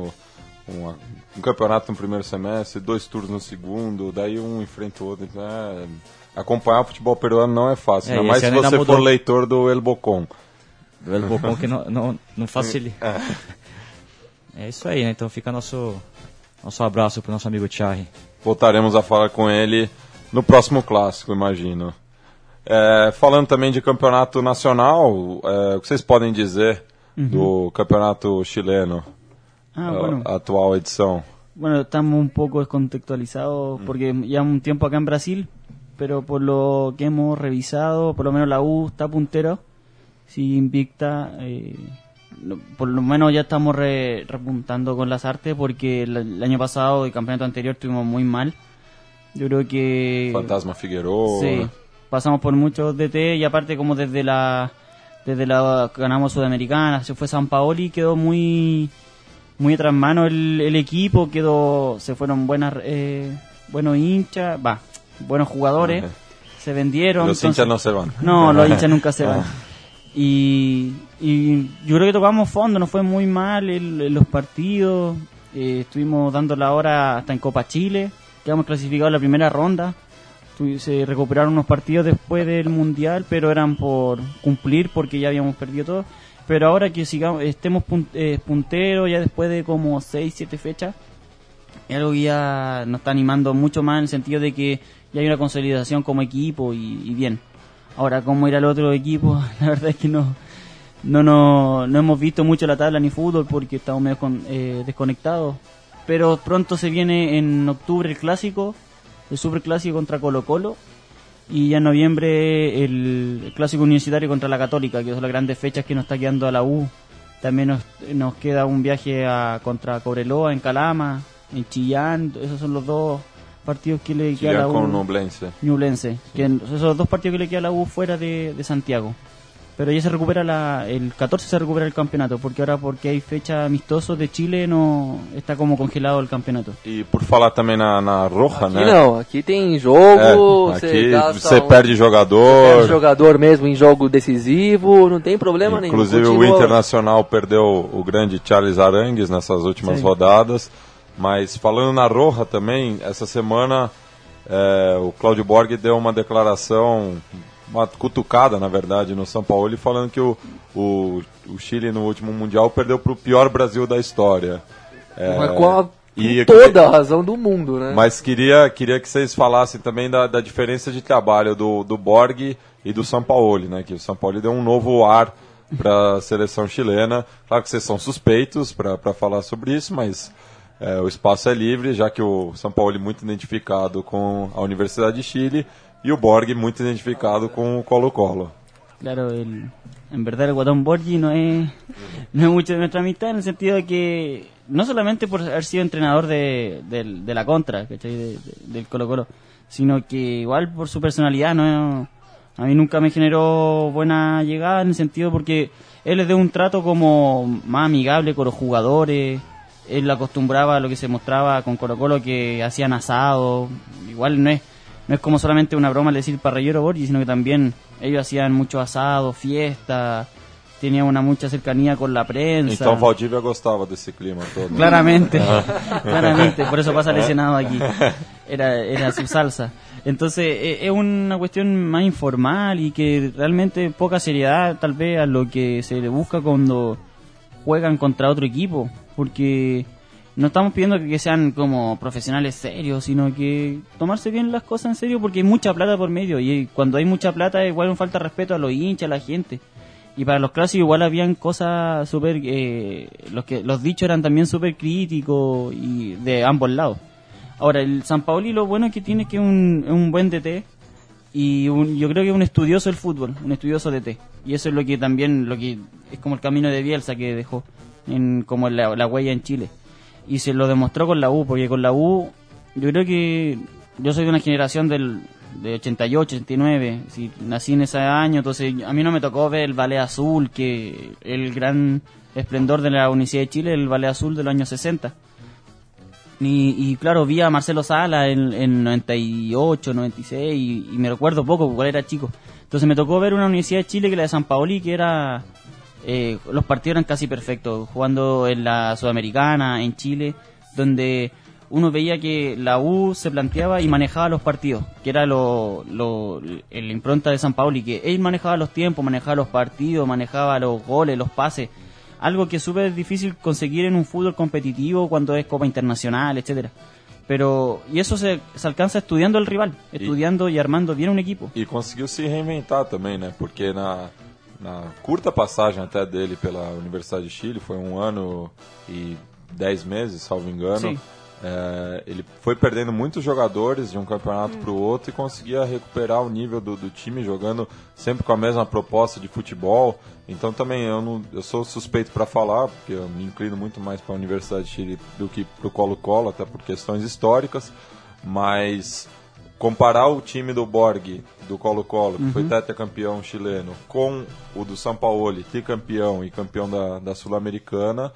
um campeonato no primeiro semestre, 2 turnos no segundo, daí um enfrenta o outro. Então acompanhar o futebol peruano não é fácil, ainda mais se você for leitor do El Bocón. Do El Bocón, que não facilita. É isso aí, né? Então fica nosso abraço pro nosso amigo Charri. Voltaremos a falar com ele no próximo clássico, imagino. Falando também de campeonato nacional, o que vocês podem dizer do campeonato chileno? A atual edición. Bueno, estamos un poco descontextualizados porque ya un tiempo acá en Brasil, pero por lo que hemos revisado, por lo menos la U está puntero, sí, invicta. Por lo menos ya estamos repuntando con las artes, porque el año pasado, el campeonato anterior, estuvimos muy mal. Yo creo que... Fantasma Figueroa. Sí, pasamos por muchos DT, y aparte como desde la ganamos Sudamericana, se fue San Paoli, quedó muy atrás mano el equipo, se fueron buenos hinchas, buenos jugadores, se vendieron. Los hinchas no se van. No, los hinchas nunca se van. Y yo creo que tocamos fondo, nos fue muy mal en los partidos, estuvimos dando la hora hasta en Copa Chile, quedamos clasificados en la primera ronda, se recuperaron unos partidos después del Mundial, pero eran por cumplir porque ya habíamos perdido todo. Pero ahora que estemos punteros, ya después de como 6-7 fechas, es algo que ya nos está animando mucho más, en el sentido de que ya hay una consolidación como equipo y bien. Ahora, cómo ir al otro equipo, la verdad es que no hemos visto mucho la tabla ni fútbol porque estamos medio desconectados. Pero pronto se viene en octubre el superclásico contra Colo-Colo. Y ya en noviembre el clásico universitario contra la Católica, que son las grandes fechas que nos está quedando a la U. También nos queda un viaje contra Cobreloa, en Calama, en Chillán. Esos son los dos partidos que le queda a la U. Con Ñublense. Que esos son los dos partidos que le queda a la U fuera de Santiago. Pero ya se recupera el 14 se recupera el campeonato, porque hay fecha amistosos de Chile, no está como congelado el campeonato. E por falar também na Roja, aqui né? Não, aqui tem jogo, aqui você perde jogador mesmo em jogo decisivo, não tem problema nenhum. Inclusive o Internacional perdeu o grande Charles Arangues nessas últimas rodadas, mas falando na Roja também, essa semana o Claudio Borghi deu uma declaração, uma cutucada, na verdade, no São Paulo, falando que o Chile no último Mundial perdeu para o pior Brasil da história. Com toda a razão do mundo, né? Mas queria que vocês falassem também da diferença de trabalho do Borghi e do São Paulo, né? Que o São Paulo deu um novo ar para a seleção chilena. Claro que vocês são suspeitos para falar sobre isso, mas o espaço é livre, já que o São Paulo é muito identificado com a Universidade de Chile y el Borghi muy identificado con Colo-Colo. Claro, en verdad el Guatón Borghi no es mucho de nuestra amistad, en el sentido de que no solamente por haber sido entrenador de la contra, ¿cachai? Del Colo-Colo, sino que igual por su personalidad, a mí nunca me generó buena llegada, en el sentido porque él es de un trato como más amigable con los jugadores. Él acostumbraba a lo que se mostraba con Colo-Colo, que hacían asado, igual no es como solamente una broma decir parrillero Borghi, sino que también ellos hacían mucho asado, fiesta, tenía una mucha cercanía con la prensa. Então Valdívia gostava desse clima todo. Claramente, claramente, por eso pasa lesionado aquí. Era su salsa. Entonces es una cuestión más informal y que realmente poca seriedad tal vez a lo que se le busca cuando juegan contra otro equipo, porque no estamos pidiendo que sean como profesionales serios, sino que tomarse bien las cosas en serio, porque hay mucha plata por medio, y cuando hay mucha plata igual falta respeto a los hinchas, a la gente. Y para los clásicos igual habían cosas súper... los dichos eran también súper críticos y de ambos lados. Ahora, el Sampaoli lo bueno que tiene que es un buen DT, y yo creo que es un estudioso del fútbol, un estudioso DT. Y eso es lo que también es como el camino de Bielsa que dejó, como la huella en Chile. Y se lo demostró con la U, porque con la U, yo creo que yo soy de una generación de 88, 89, si nací en ese año, entonces a mí no me tocó ver el Ballet Azul, que el gran esplendor de la Universidad de Chile, el Ballet Azul de los años 60. Y claro, vi a Marcelo Sala en 98, 96, y me recuerdo poco, porque igual era chico. Entonces me tocó ver una Universidad de Chile que la de Sampaoli, que era... los partidos eran casi perfectos, jugando en la Sudamericana, en Chile, donde uno veía que la U se planteaba y manejaba los partidos, que era la impronta de Sampaoli, que él manejaba los tiempos, manejaba los partidos, manejaba los goles, los pases, algo que es súper difícil conseguir en un fútbol competitivo cuando es Copa Internacional, etcétera. Y eso se alcanza estudiando al rival, estudiando y armando bien un equipo. E conseguiu se reinventar também, né? Porque na curta passagem até dele pela Universidade de Chile, foi 1 ano e 10 meses, salvo engano, ele foi perdendo muitos jogadores de um campeonato para o outro e conseguia recuperar o nível do time, jogando sempre com a mesma proposta de futebol. Então também eu sou suspeito para falar, porque eu me inclino muito mais para a Universidade de Chile do que para o Colo-Colo, até por questões históricas, mas... comparar o time do Borg, do Colo-Colo, que foi tetracampeão chileno, com o do Sampaoli, tricampeão e campeão da Sul-Americana,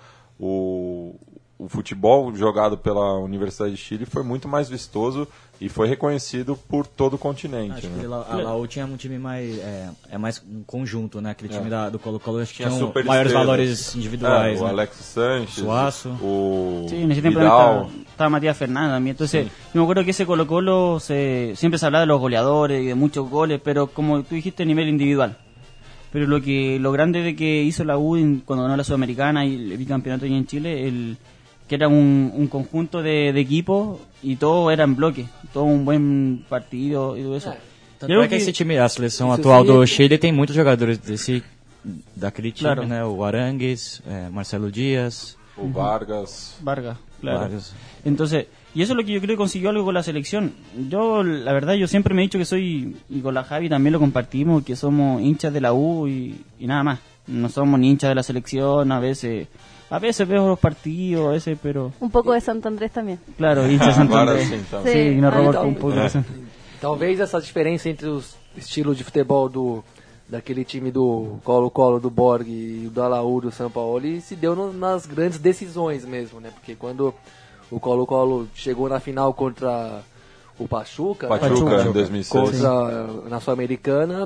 o futebol jogado pela Universidade de Chile foi muito mais vistoso e foi reconhecido por todo o continente. Acho né? que a Laú tinha um time mais... mais um conjunto, né? Aquele time do Colo-Colo, acho que tinha maiores valores individuais. O né? Alex Sánchez, Suazo. o Sí, en ese tiempo Vidal. estaba Matías Fernández también. Entonces, yo me acuerdo que ese Colo-Colo siempre se hablaba de los goleadores y de muchos goles, pero como tú dijiste, a nivel individual. Pero lo grande de que hizo la U cuando ganó la Sudamericana y el bicampeonato allí en Chile, que era un conjunto de equipos y todo era en bloque, todo un buen partido y todo eso. Tanto é que esse time, a seleção atual do Chile tem muitos jogadores daquele time, Claro. né? O Arangues, Marcelo Díaz, O Vargas. Claro. Vargas. Entonces, y eso es lo que yo creo que consiguió algo con la selección. La verdad, yo siempre me he dicho que y con la Javi también lo compartimos, que somos hinchas de la U y nada más. No somos ni hinchas de la selección, a veces veo los partidos, a veces, pero... Un poco de Santo Andrés también. Claro, hinchas de Santo Agora Andrés. sim, então. Sí, nos robó Então, un poco eso. Talvez essa diferença entre os estilos de futebol daquele time do Colo-Colo, do Borg e do Laú, do Sampaoli, se deu nas grandes decisões mesmo, né? Porque quando o Colo-Colo chegou na final contra o Pachuca, Pachuca, em 2006. na Sul-Americana,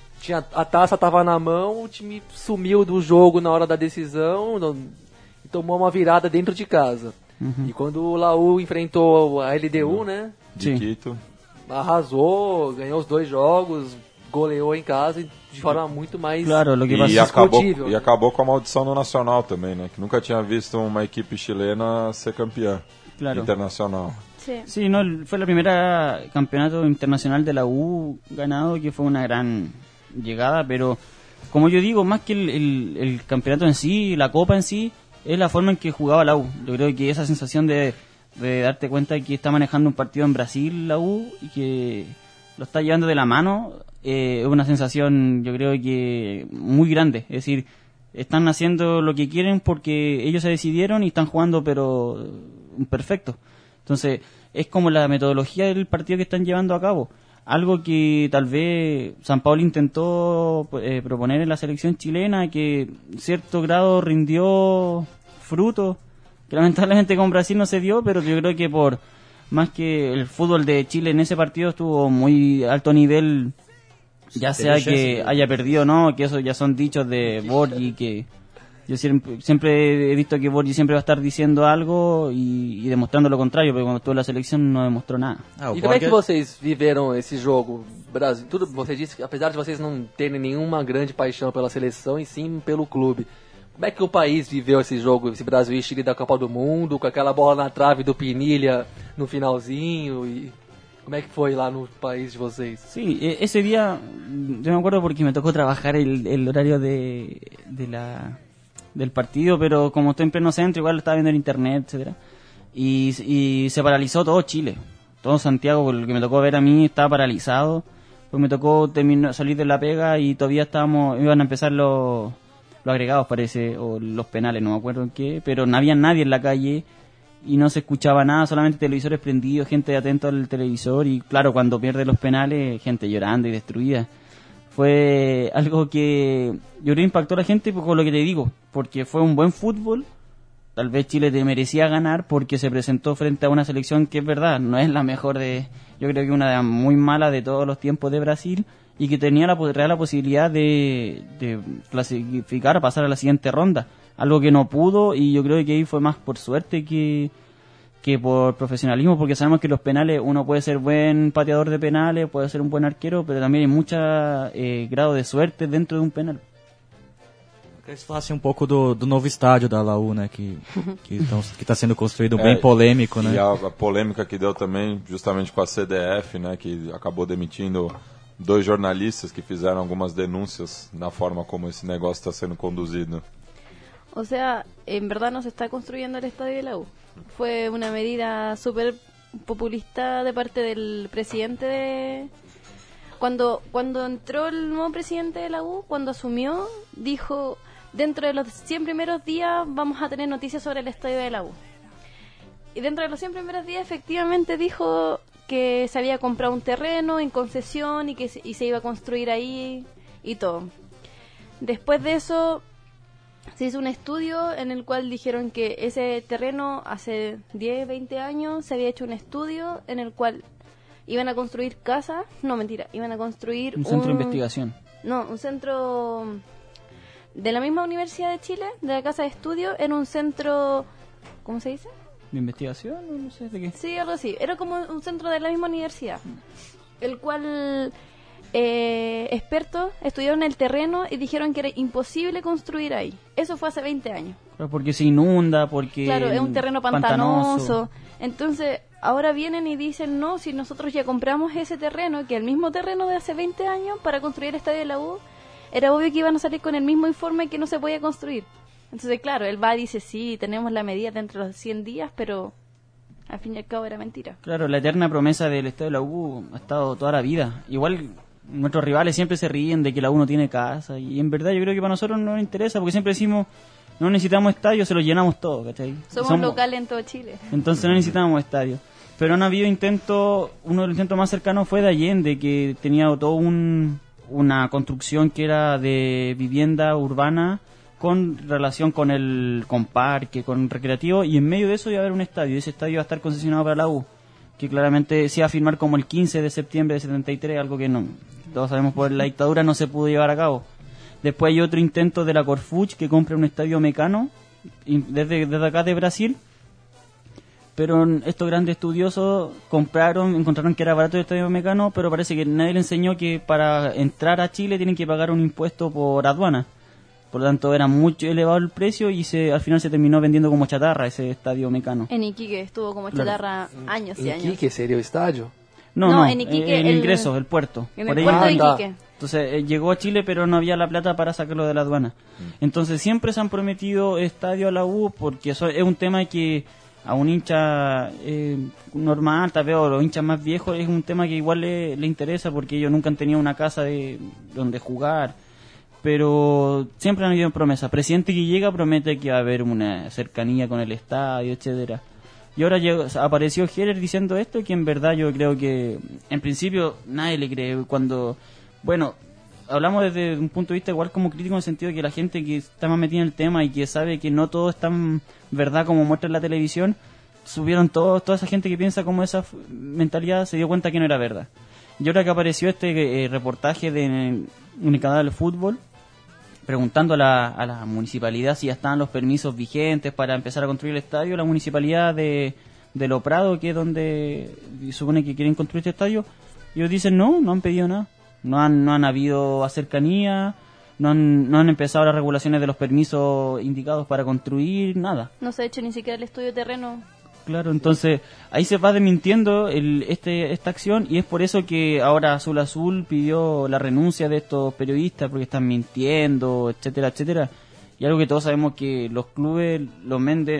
a taça estava na mão, o time sumiu do jogo na hora da decisão e tomou uma virada dentro de casa. E quando o Laú enfrentou a LDU, né? De Sim. Quito. Arrasou, ganhou os 2 jogos, goleou em casa de forma muito mais Claro, lo que pasa E es discutível. acabou com a maldição no Nacional também, né? Que nunca tinha visto uma equipe chilena ser campeã Claro. internacional. Sí. Sí, no, fue la primera campeonato internacional de la U ganado, que fue una gran llegada, pero como yo digo, más que el campeonato en sí, la copa en sí, es la forma en que jugaba la U. Yo creo que esa sensación de darte cuenta que está manejando un partido en Brasil la U y que lo está llevando de la mano, es una sensación, yo creo que muy grande. Es decir, están haciendo lo que quieren porque ellos se decidieron y están jugando, pero perfecto. Entonces, es como la metodología del partido que están llevando a cabo. Algo que tal vez Sampaoli intentó proponer en la selección chilena, que en cierto grado rindió fruto, que lamentablemente con Brasil no se dio, pero yo creo que por más que el fútbol de Chile en ese partido estuvo muy alto nivel Ya sea que haya perdido o no, que eso ya son dichos de Borgi, que yo siempre he visto que Borgi siempre va a estar diciendo algo y demostrando lo contrario, porque cuando estuvo en la selección no demostrou nada. E como é que vocês viveram esse jogo? Brasil, tudo, você disse que apesar de vocês não terem nenhuma grande paixão pela seleção e sim pelo clube, como é que o país viveu esse jogo, esse Brasil e Chile da Copa do Mundo, com aquela bola na trave do Pinilla no finalzinho? E como é que foi lá no país de vocês? Sí, ese día yo me acuerdo porque me tocó trabajar el horario del partido, pero como estoy en pleno centro, igual lo estaba viendo en internet, etcétera, y se paralizó todo Chile, todo Santiago, por lo que me tocó ver a mí estaba paralizado, pues me tocó salir de la pega y todavía iban a empezar los agregados, parece, o los penales, no me acuerdo en qué, pero no había nadie en la calle y no se escuchaba nada, solamente televisores prendidos, gente atenta al televisor y claro, cuando pierde los penales, gente llorando y destruida. Fue algo que yo creo que impactó a la gente con lo que te digo, porque fue un buen fútbol. Tal vez Chile te merecía ganar porque se presentó frente a una selección que es verdad, no es la mejor yo creo que una de las muy malas de todos los tiempos de Brasil y que tenía la posibilidad de clasificar, pasar a la siguiente ronda, algo que no pudo y yo creo que ahí fue más por suerte que por profesionalismo, porque sabemos que los penales uno puede ser buen pateador de penales, puede ser un buen arquero, pero también hay mucho grado de suerte dentro de un penal. Eu queria que você falasse um pouco do novo estádio da Laú, né, que está sendo construído, bem polêmico, né? E a polêmica que deu também justamente com a CDF, né, que acabou demitindo 2 jornalistas que fizeram algumas denúncias na forma como esse negócio está sendo conduzido. O sea, en verdad no se está construyendo el estadio de la U. Fue una medida súper populista de parte del presidente Cuando entró el nuevo presidente de la U, cuando asumió, dijo, dentro de los 100 primeros días vamos a tener noticias sobre el estadio de la U. Y dentro de los 100 primeros días efectivamente dijo que se había comprado un terreno en concesión y se iba a construir ahí y todo. Después de eso se hizo un estudio en el cual dijeron que ese terreno hace 10, 20 años se había hecho un estudio en el cual iban a construir casas, no mentira, iban a construir un centro de investigación. No, un centro de la misma Universidad de Chile, de la Casa de Estudio, era un centro, ¿cómo se dice? ¿De investigación? No sé de qué. Sí, algo así, era como un centro de la misma universidad, el cual expertos estudiaron el terreno y dijeron que era imposible construir ahí. Eso fue hace 20 años. Claro, porque se inunda, porque... Claro, es un terreno pantanoso. Entonces, ahora vienen y dicen, no, si nosotros ya compramos ese terreno, que el mismo terreno de hace 20 años para construir el estadio de la U, era obvio que iban a salir con el mismo informe que no se podía construir. Entonces, claro, él va y dice, sí, tenemos la medida dentro de los 100 días, pero al fin y al cabo era mentira. Claro, la eterna promesa del estadio de la U ha estado toda la vida. Igual nuestros rivales siempre se ríen de que la U no tiene casa, y en verdad yo creo que para nosotros no nos interesa, porque siempre decimos, no necesitamos estadios, se los llenamos todos, ¿cachai? Somos locales en todo Chile. Entonces no necesitamos estadios. Pero no ha habido intento, uno de los intentos más cercanos fue de Allende, que tenía todo una construcción que era de vivienda urbana con relación con parque, con recreativo, y en medio de eso iba a haber un estadio, y ese estadio iba a estar concesionado para la U, que claramente se iba a firmar como el 15 de septiembre de 73, algo que no, todos sabemos por la dictadura no se pudo llevar a cabo. Después hay otro intento de la Corfuch que compra un estadio Mecano desde acá de Brasil, pero estos grandes estudiosos encontraron que era barato el estadio Mecano, pero parece que nadie le enseñó que para entrar a Chile tienen que pagar un impuesto por aduana. Por lo tanto, era mucho elevado el precio y al final se terminó vendiendo como chatarra ese estadio Mecano. En Iquique estuvo como chatarra años y años. ¿En Iquique sería el estadio? No, en Iquique, el ingreso, el puerto. En el puerto de Iquique. Entonces llegó a Chile, pero no había la plata para sacarlo de la aduana. Entonces siempre se han prometido estadio a la U, porque eso es un tema que a un hincha normal, tal vez, o los hinchas más viejos, es un tema que igual le interesa, porque ellos nunca han tenido una casa donde jugar. Pero siempre han habido promesas. Presidente que llega promete que va a haber una cercanía con el estadio, etcétera. Y ahora apareció Heller diciendo esto, que en verdad yo creo que en principio nadie le cree. Bueno, hablamos desde un punto de vista igual como crítico, en el sentido de que la gente que está más metida en el tema y que sabe que no todo es tan verdad como muestra en la televisión, toda esa gente que piensa como esa mentalidad se dio cuenta que no era verdad. Y ahora que apareció este reportaje de un canal de fútbol, preguntando a la municipalidad si ya estaban los permisos vigentes para empezar a construir el estadio, la municipalidad de Lo Prado, que es donde supone que quieren construir este estadio, ellos dicen no han pedido nada, no han habido cercanía, no han empezado las regulaciones de los permisos indicados para construir, nada. No se ha hecho ni siquiera el estudio de terreno. Claro, entonces ahí se va desmintiendo esta acción, y es por eso que ahora Azul Azul pidió la renuncia de estos periodistas porque están mintiendo, etcétera, etcétera. Y algo que todos sabemos, que los clubes los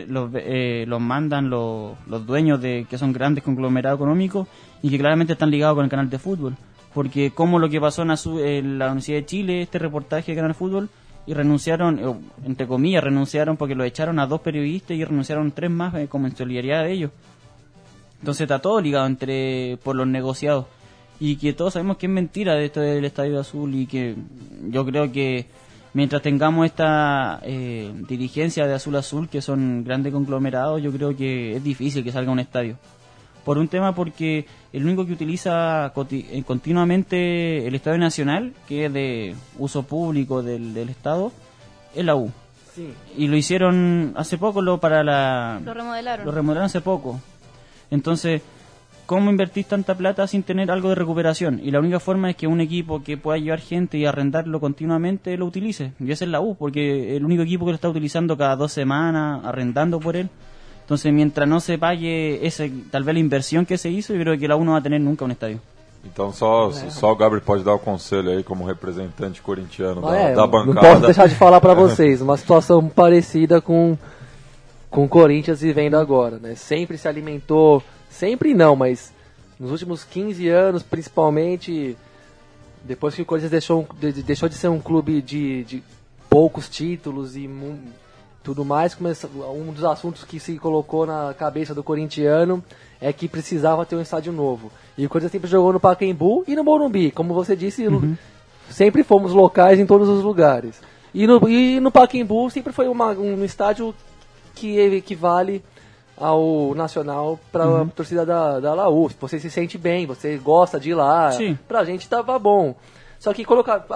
mandan los dueños de que son grandes conglomerados económicos y que claramente están ligados con el canal de fútbol. Porque como lo que pasó en la Universidad de Chile, este reportaje de Canal Fútbol, y renunciaron, entre comillas, renunciaron porque lo echaron a 2 periodistas y renunciaron 3 más como en solidaridad de ellos. Entonces está todo ligado por los negociados, y que todos sabemos que es mentira de esto del Estadio Azul, y que yo creo que mientras tengamos esta dirigencia de Azul Azul, que son grandes conglomerados, yo creo que es difícil que salga un estadio. Por un tema, porque el único que utiliza continuamente el Estadio Nacional, que es de uso público del Estado, es la U. Sí. Y lo hicieron hace poco, Lo remodelaron. Lo remodelaron hace poco. Entonces, ¿cómo invertís tanta plata sin tener algo de recuperación? Y la única forma es que un equipo que pueda llevar gente y arrendarlo continuamente lo utilice. Y ese es la U, porque es el único equipo que lo está utilizando cada 2 semanas, arrendando por él. Entonces, mientras no se pague tal vez la inversión que se hizo, yo creo que la U no va a tener nunca un estadio. Então só o Gabriel pode dar o conselho aí como representante corintiano da Não bancada. posso deixar de falar para vocês, uma situação parecida com o Corinthians vivendo agora, né? Sempre se alimentou, sempre não, mas nos últimos 15 anos, principalmente, depois que o Corinthians deixou de ser um clube de poucos títulos e tudo mais, um dos assuntos que se colocou na cabeça do corintiano é que precisava ter um estádio novo. E o Corinthians sempre jogou no Pacaembu e no Morumbi. Como você disse, sempre fomos locais em todos os lugares. E no Pacaembu sempre foi um estádio que equivale ao Nacional para a torcida da Laú. Você se sente bem, você gosta de ir lá. Sim. Pra gente tava bom. Só que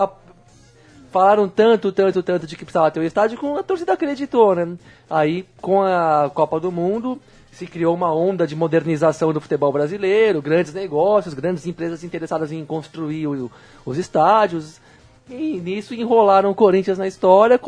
falaram tanto de que precisava ter um estádio, que a torcida acreditou, né? Aí, com a Copa do Mundo, se criou uma onda de modernização do futebol brasileiro, grandes negócios, grandes empresas interessadas em construir os estádios, e nisso enrolaram o Corinthians na história,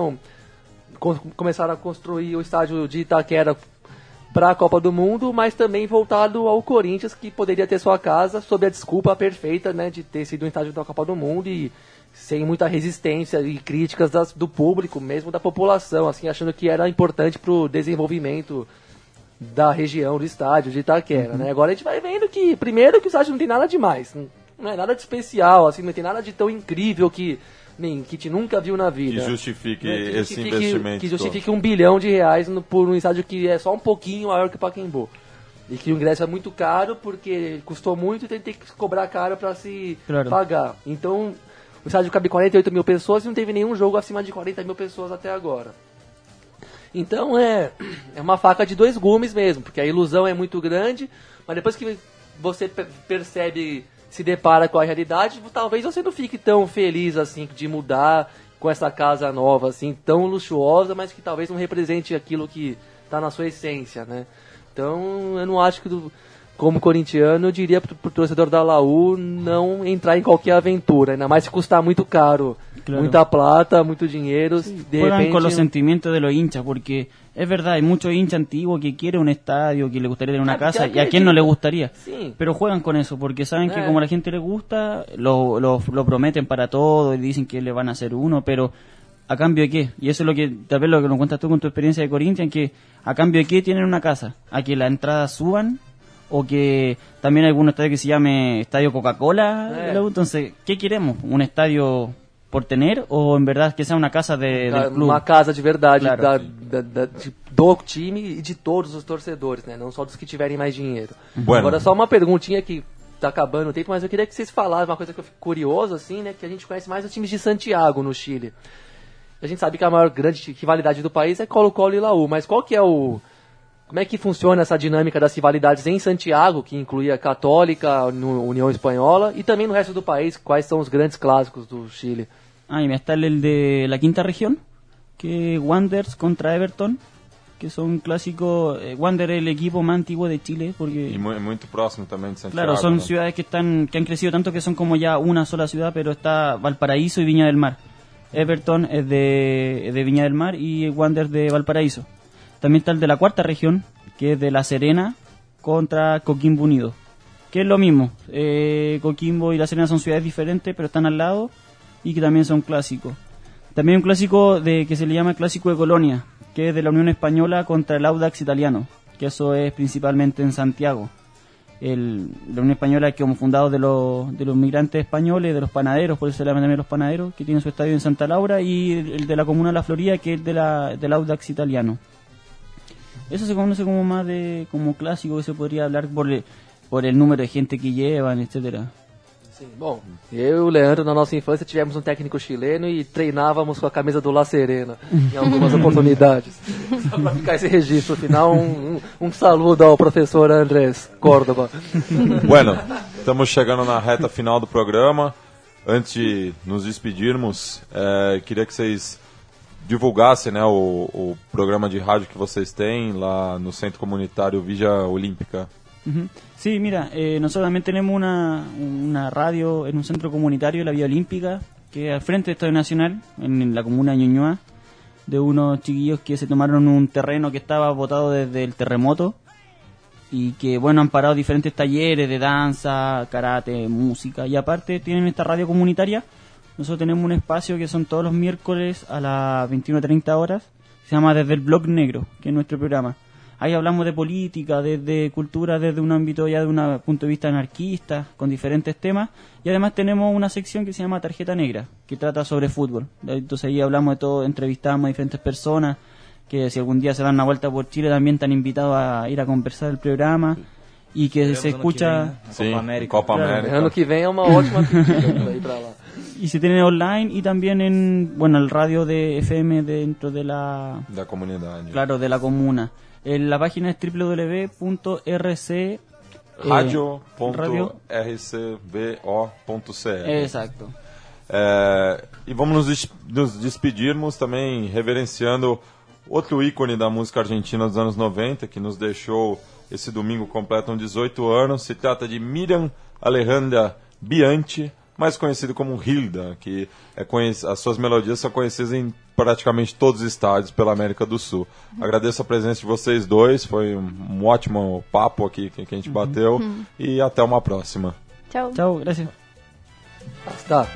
começaram a construir o estádio de Itaquera para a Copa do Mundo, mas também voltado ao Corinthians, que poderia ter sua casa, sob a desculpa perfeita, né, de ter sido um estádio da Copa do Mundo e sem muita resistência e críticas do público, mesmo da população, assim, achando que era importante para o desenvolvimento da região do estádio de Itaquera, né? Agora a gente vai vendo que, primeiro, que o estádio não tem nada demais, não é nada de especial, assim, não tem nada de tão incrível que a gente nunca viu na vida. Que justifique esse investimento. Que justifique R$1 bilhão por um estádio que é só um pouquinho maior que o Pacaembu. E que o ingresso é muito caro, porque custou muito e tem que cobrar caro para se pagar. Então, o estádio cabe 48 mil pessoas e não teve nenhum jogo acima de 40 mil pessoas até agora. Então é uma faca de 2 gumes mesmo, porque a ilusão é muito grande, mas depois que você percebe, se depara com a realidade, talvez você não fique tão feliz assim de mudar com essa casa nova, assim, tão luxuosa, mas que talvez não represente aquilo que está na sua essência, né? Então eu não acho que, como corintiano, eu diria pro torcedor da Laú não entrar em qualquer aventura, ainda mais se custar muito caro. Claro. Muita plata, mucho dinero. Sí, juegan con los sentimientos de los hinchas, porque es verdad, hay muchos hinchas antiguos que quieren un estadio, que le gustaría tener una casa, y a quién no le gustaría. Sí. Pero juegan con eso, porque saben que como a la gente le gusta, lo prometen para todo, y dicen que le van a hacer uno, pero ¿a cambio de qué? Y eso es lo que, tal vez lo que nos cuentas tú con tu experiencia de Corinthians, que ¿a cambio de qué tienen una casa? ¿A que las entradas suban? O que también hay algún estadio que se llame Estadio Coca-Cola. Entonces, ¿qué queremos? ¿Un estadio por tener, ou en verdade que seja uma casa del clube? Uma casa de verdade, claro. do time e de todos os torcedores, né? Não só dos que tiverem mais dinheiro. Bueno. Agora, só uma perguntinha que tá acabando o tempo, mas eu queria que vocês falassem uma coisa que eu fico curioso, assim, né? Que a gente conhece mais os times de Santiago, no Chile. A gente sabe que a maior grande rivalidade do país é Colo-Colo e Laú, mas qual que é Como é que funciona essa dinâmica das rivalidades em Santiago, que incluía Católica, União Espanhola, y también no resto do país? ¿Cuáles son los grandes clásicos do Chile? Y está el de la quinta región, que Wanderers contra Everton, que son clásicos. Wander es el equipo más antiguo de Chile, porque Y muy próximo también de Santiago. claro, son ¿no? ciudades que han crecido tanto que son como ya una sola ciudad, pero está Valparaíso y Viña del Mar. Everton es de Viña del Mar y Wander de Valparaíso. También está el de la cuarta región, que es de La Serena contra Coquimbo Unido, que es lo mismo. Coquimbo y La Serena son ciudades diferentes, pero están al lado y que también son clásicos. También un clásico que se le llama Clásico de Colonia, que es de la Unión Española contra el Audax Italiano, que eso es principalmente en Santiago. La Unión Española es como fundado de los migrantes españoles, de los panaderos, por eso se llaman también los panaderos, que tienen su estadio en Santa Laura, y el de la Comuna de la Florida, que es del Audax Italiano. Eso se conoce como más como clásico, que se podría hablar por el número de gente que llevan, etcétera. Sim, bom, eu e o Leandro, na nossa infância, tivemos um técnico chileno e treinávamos com a camisa do La Serena em algumas oportunidades. Só para ficar esse registro final, um saludo ao professor Andrés Córdoba. Bueno, estamos chegando na reta final do programa. Antes de nos despedirmos, queria que vocês divulgassem, né, o programa de rádio que vocês têm lá no Centro Comunitário Villa Olímpica. Uh-huh. Sí, mira, nosotros también tenemos una radio en un centro comunitario, la Vía Olímpica, que es al frente del Estadio Nacional, en la comuna de Ñuñoa, de unos chiquillos que se tomaron un terreno que estaba botado desde el terremoto y que, bueno, han parado diferentes talleres de danza, karate, música, y aparte tienen esta radio comunitaria. Nosotros tenemos un espacio que son todos los miércoles a las 21:30 horas, se llama Desde el Blog Negro, que es nuestro programa. Ahí hablamos de política, desde cultura, desde un ámbito ya de un punto de vista anarquista, con diferentes temas. Y además tenemos una sección que se llama Tarjeta Negra, que trata sobre fútbol. Entonces ahí hablamos de todo, entrevistamos a diferentes personas, que si algún día se dan una vuelta por Chile también están invitados a ir a conversar el programa. Y que se escucha... Sí, Copa América. Claro, ano que vem é uma ótima pedida para ir para lá. Y se tiene online y también en, bueno, el radio de FM dentro de la... Da comunidade. Claro, de la comuna. La página es www.rc... radio.rcbo.cr. Exacto. E vamos nos despedirmos também reverenciando outro ícone da música argentina dos anos 90, que nos deixou esse domingo, completam 18 anos. Se trata de Miriam Alejandra Bianchi, mais conhecido como Hilda, que as suas melodias são conhecidas em praticamente todos os estádios pela América do Sul. Agradeço a presença de vocês dois, foi um ótimo papo aqui que a gente bateu, e até uma próxima. Chao. Chao, gracias. Hasta.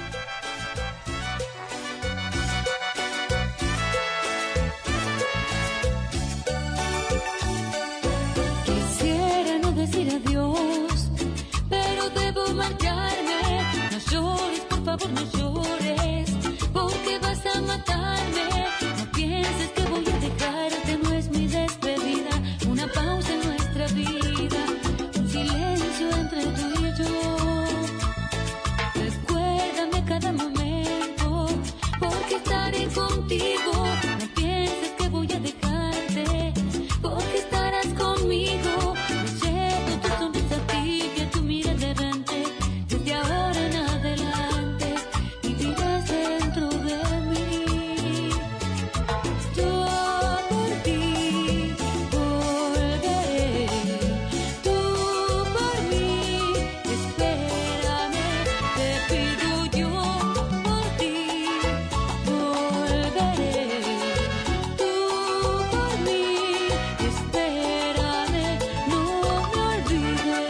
Quisiera no decir adiós, pero debo marcharme. No llores, por favor, no llores, porque vas a matarme. No pienses que voy a dejarte, no es mi despedida. Una pausa en nuestra vida, un silencio entre tú y yo. Recuérdame cada momento, porque estaré contigo. No pienses que voy a dejarte, porque estarás conmigo. Me llevo tu sonrisa tibia, tu mirada errante. Desde ahora en adelante vivirás dentro de mí. Yo por ti volveré, tú por mí espérame. Te pido yo por ti volveré, tú por mí espérame, no me olvides.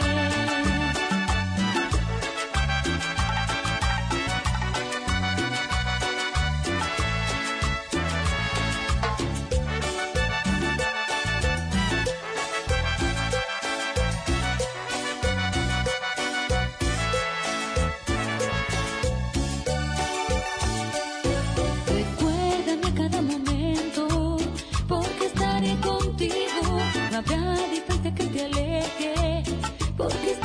Recuérdame cada momento, porque estaré contigo. No habrá distancia que te aleje, porque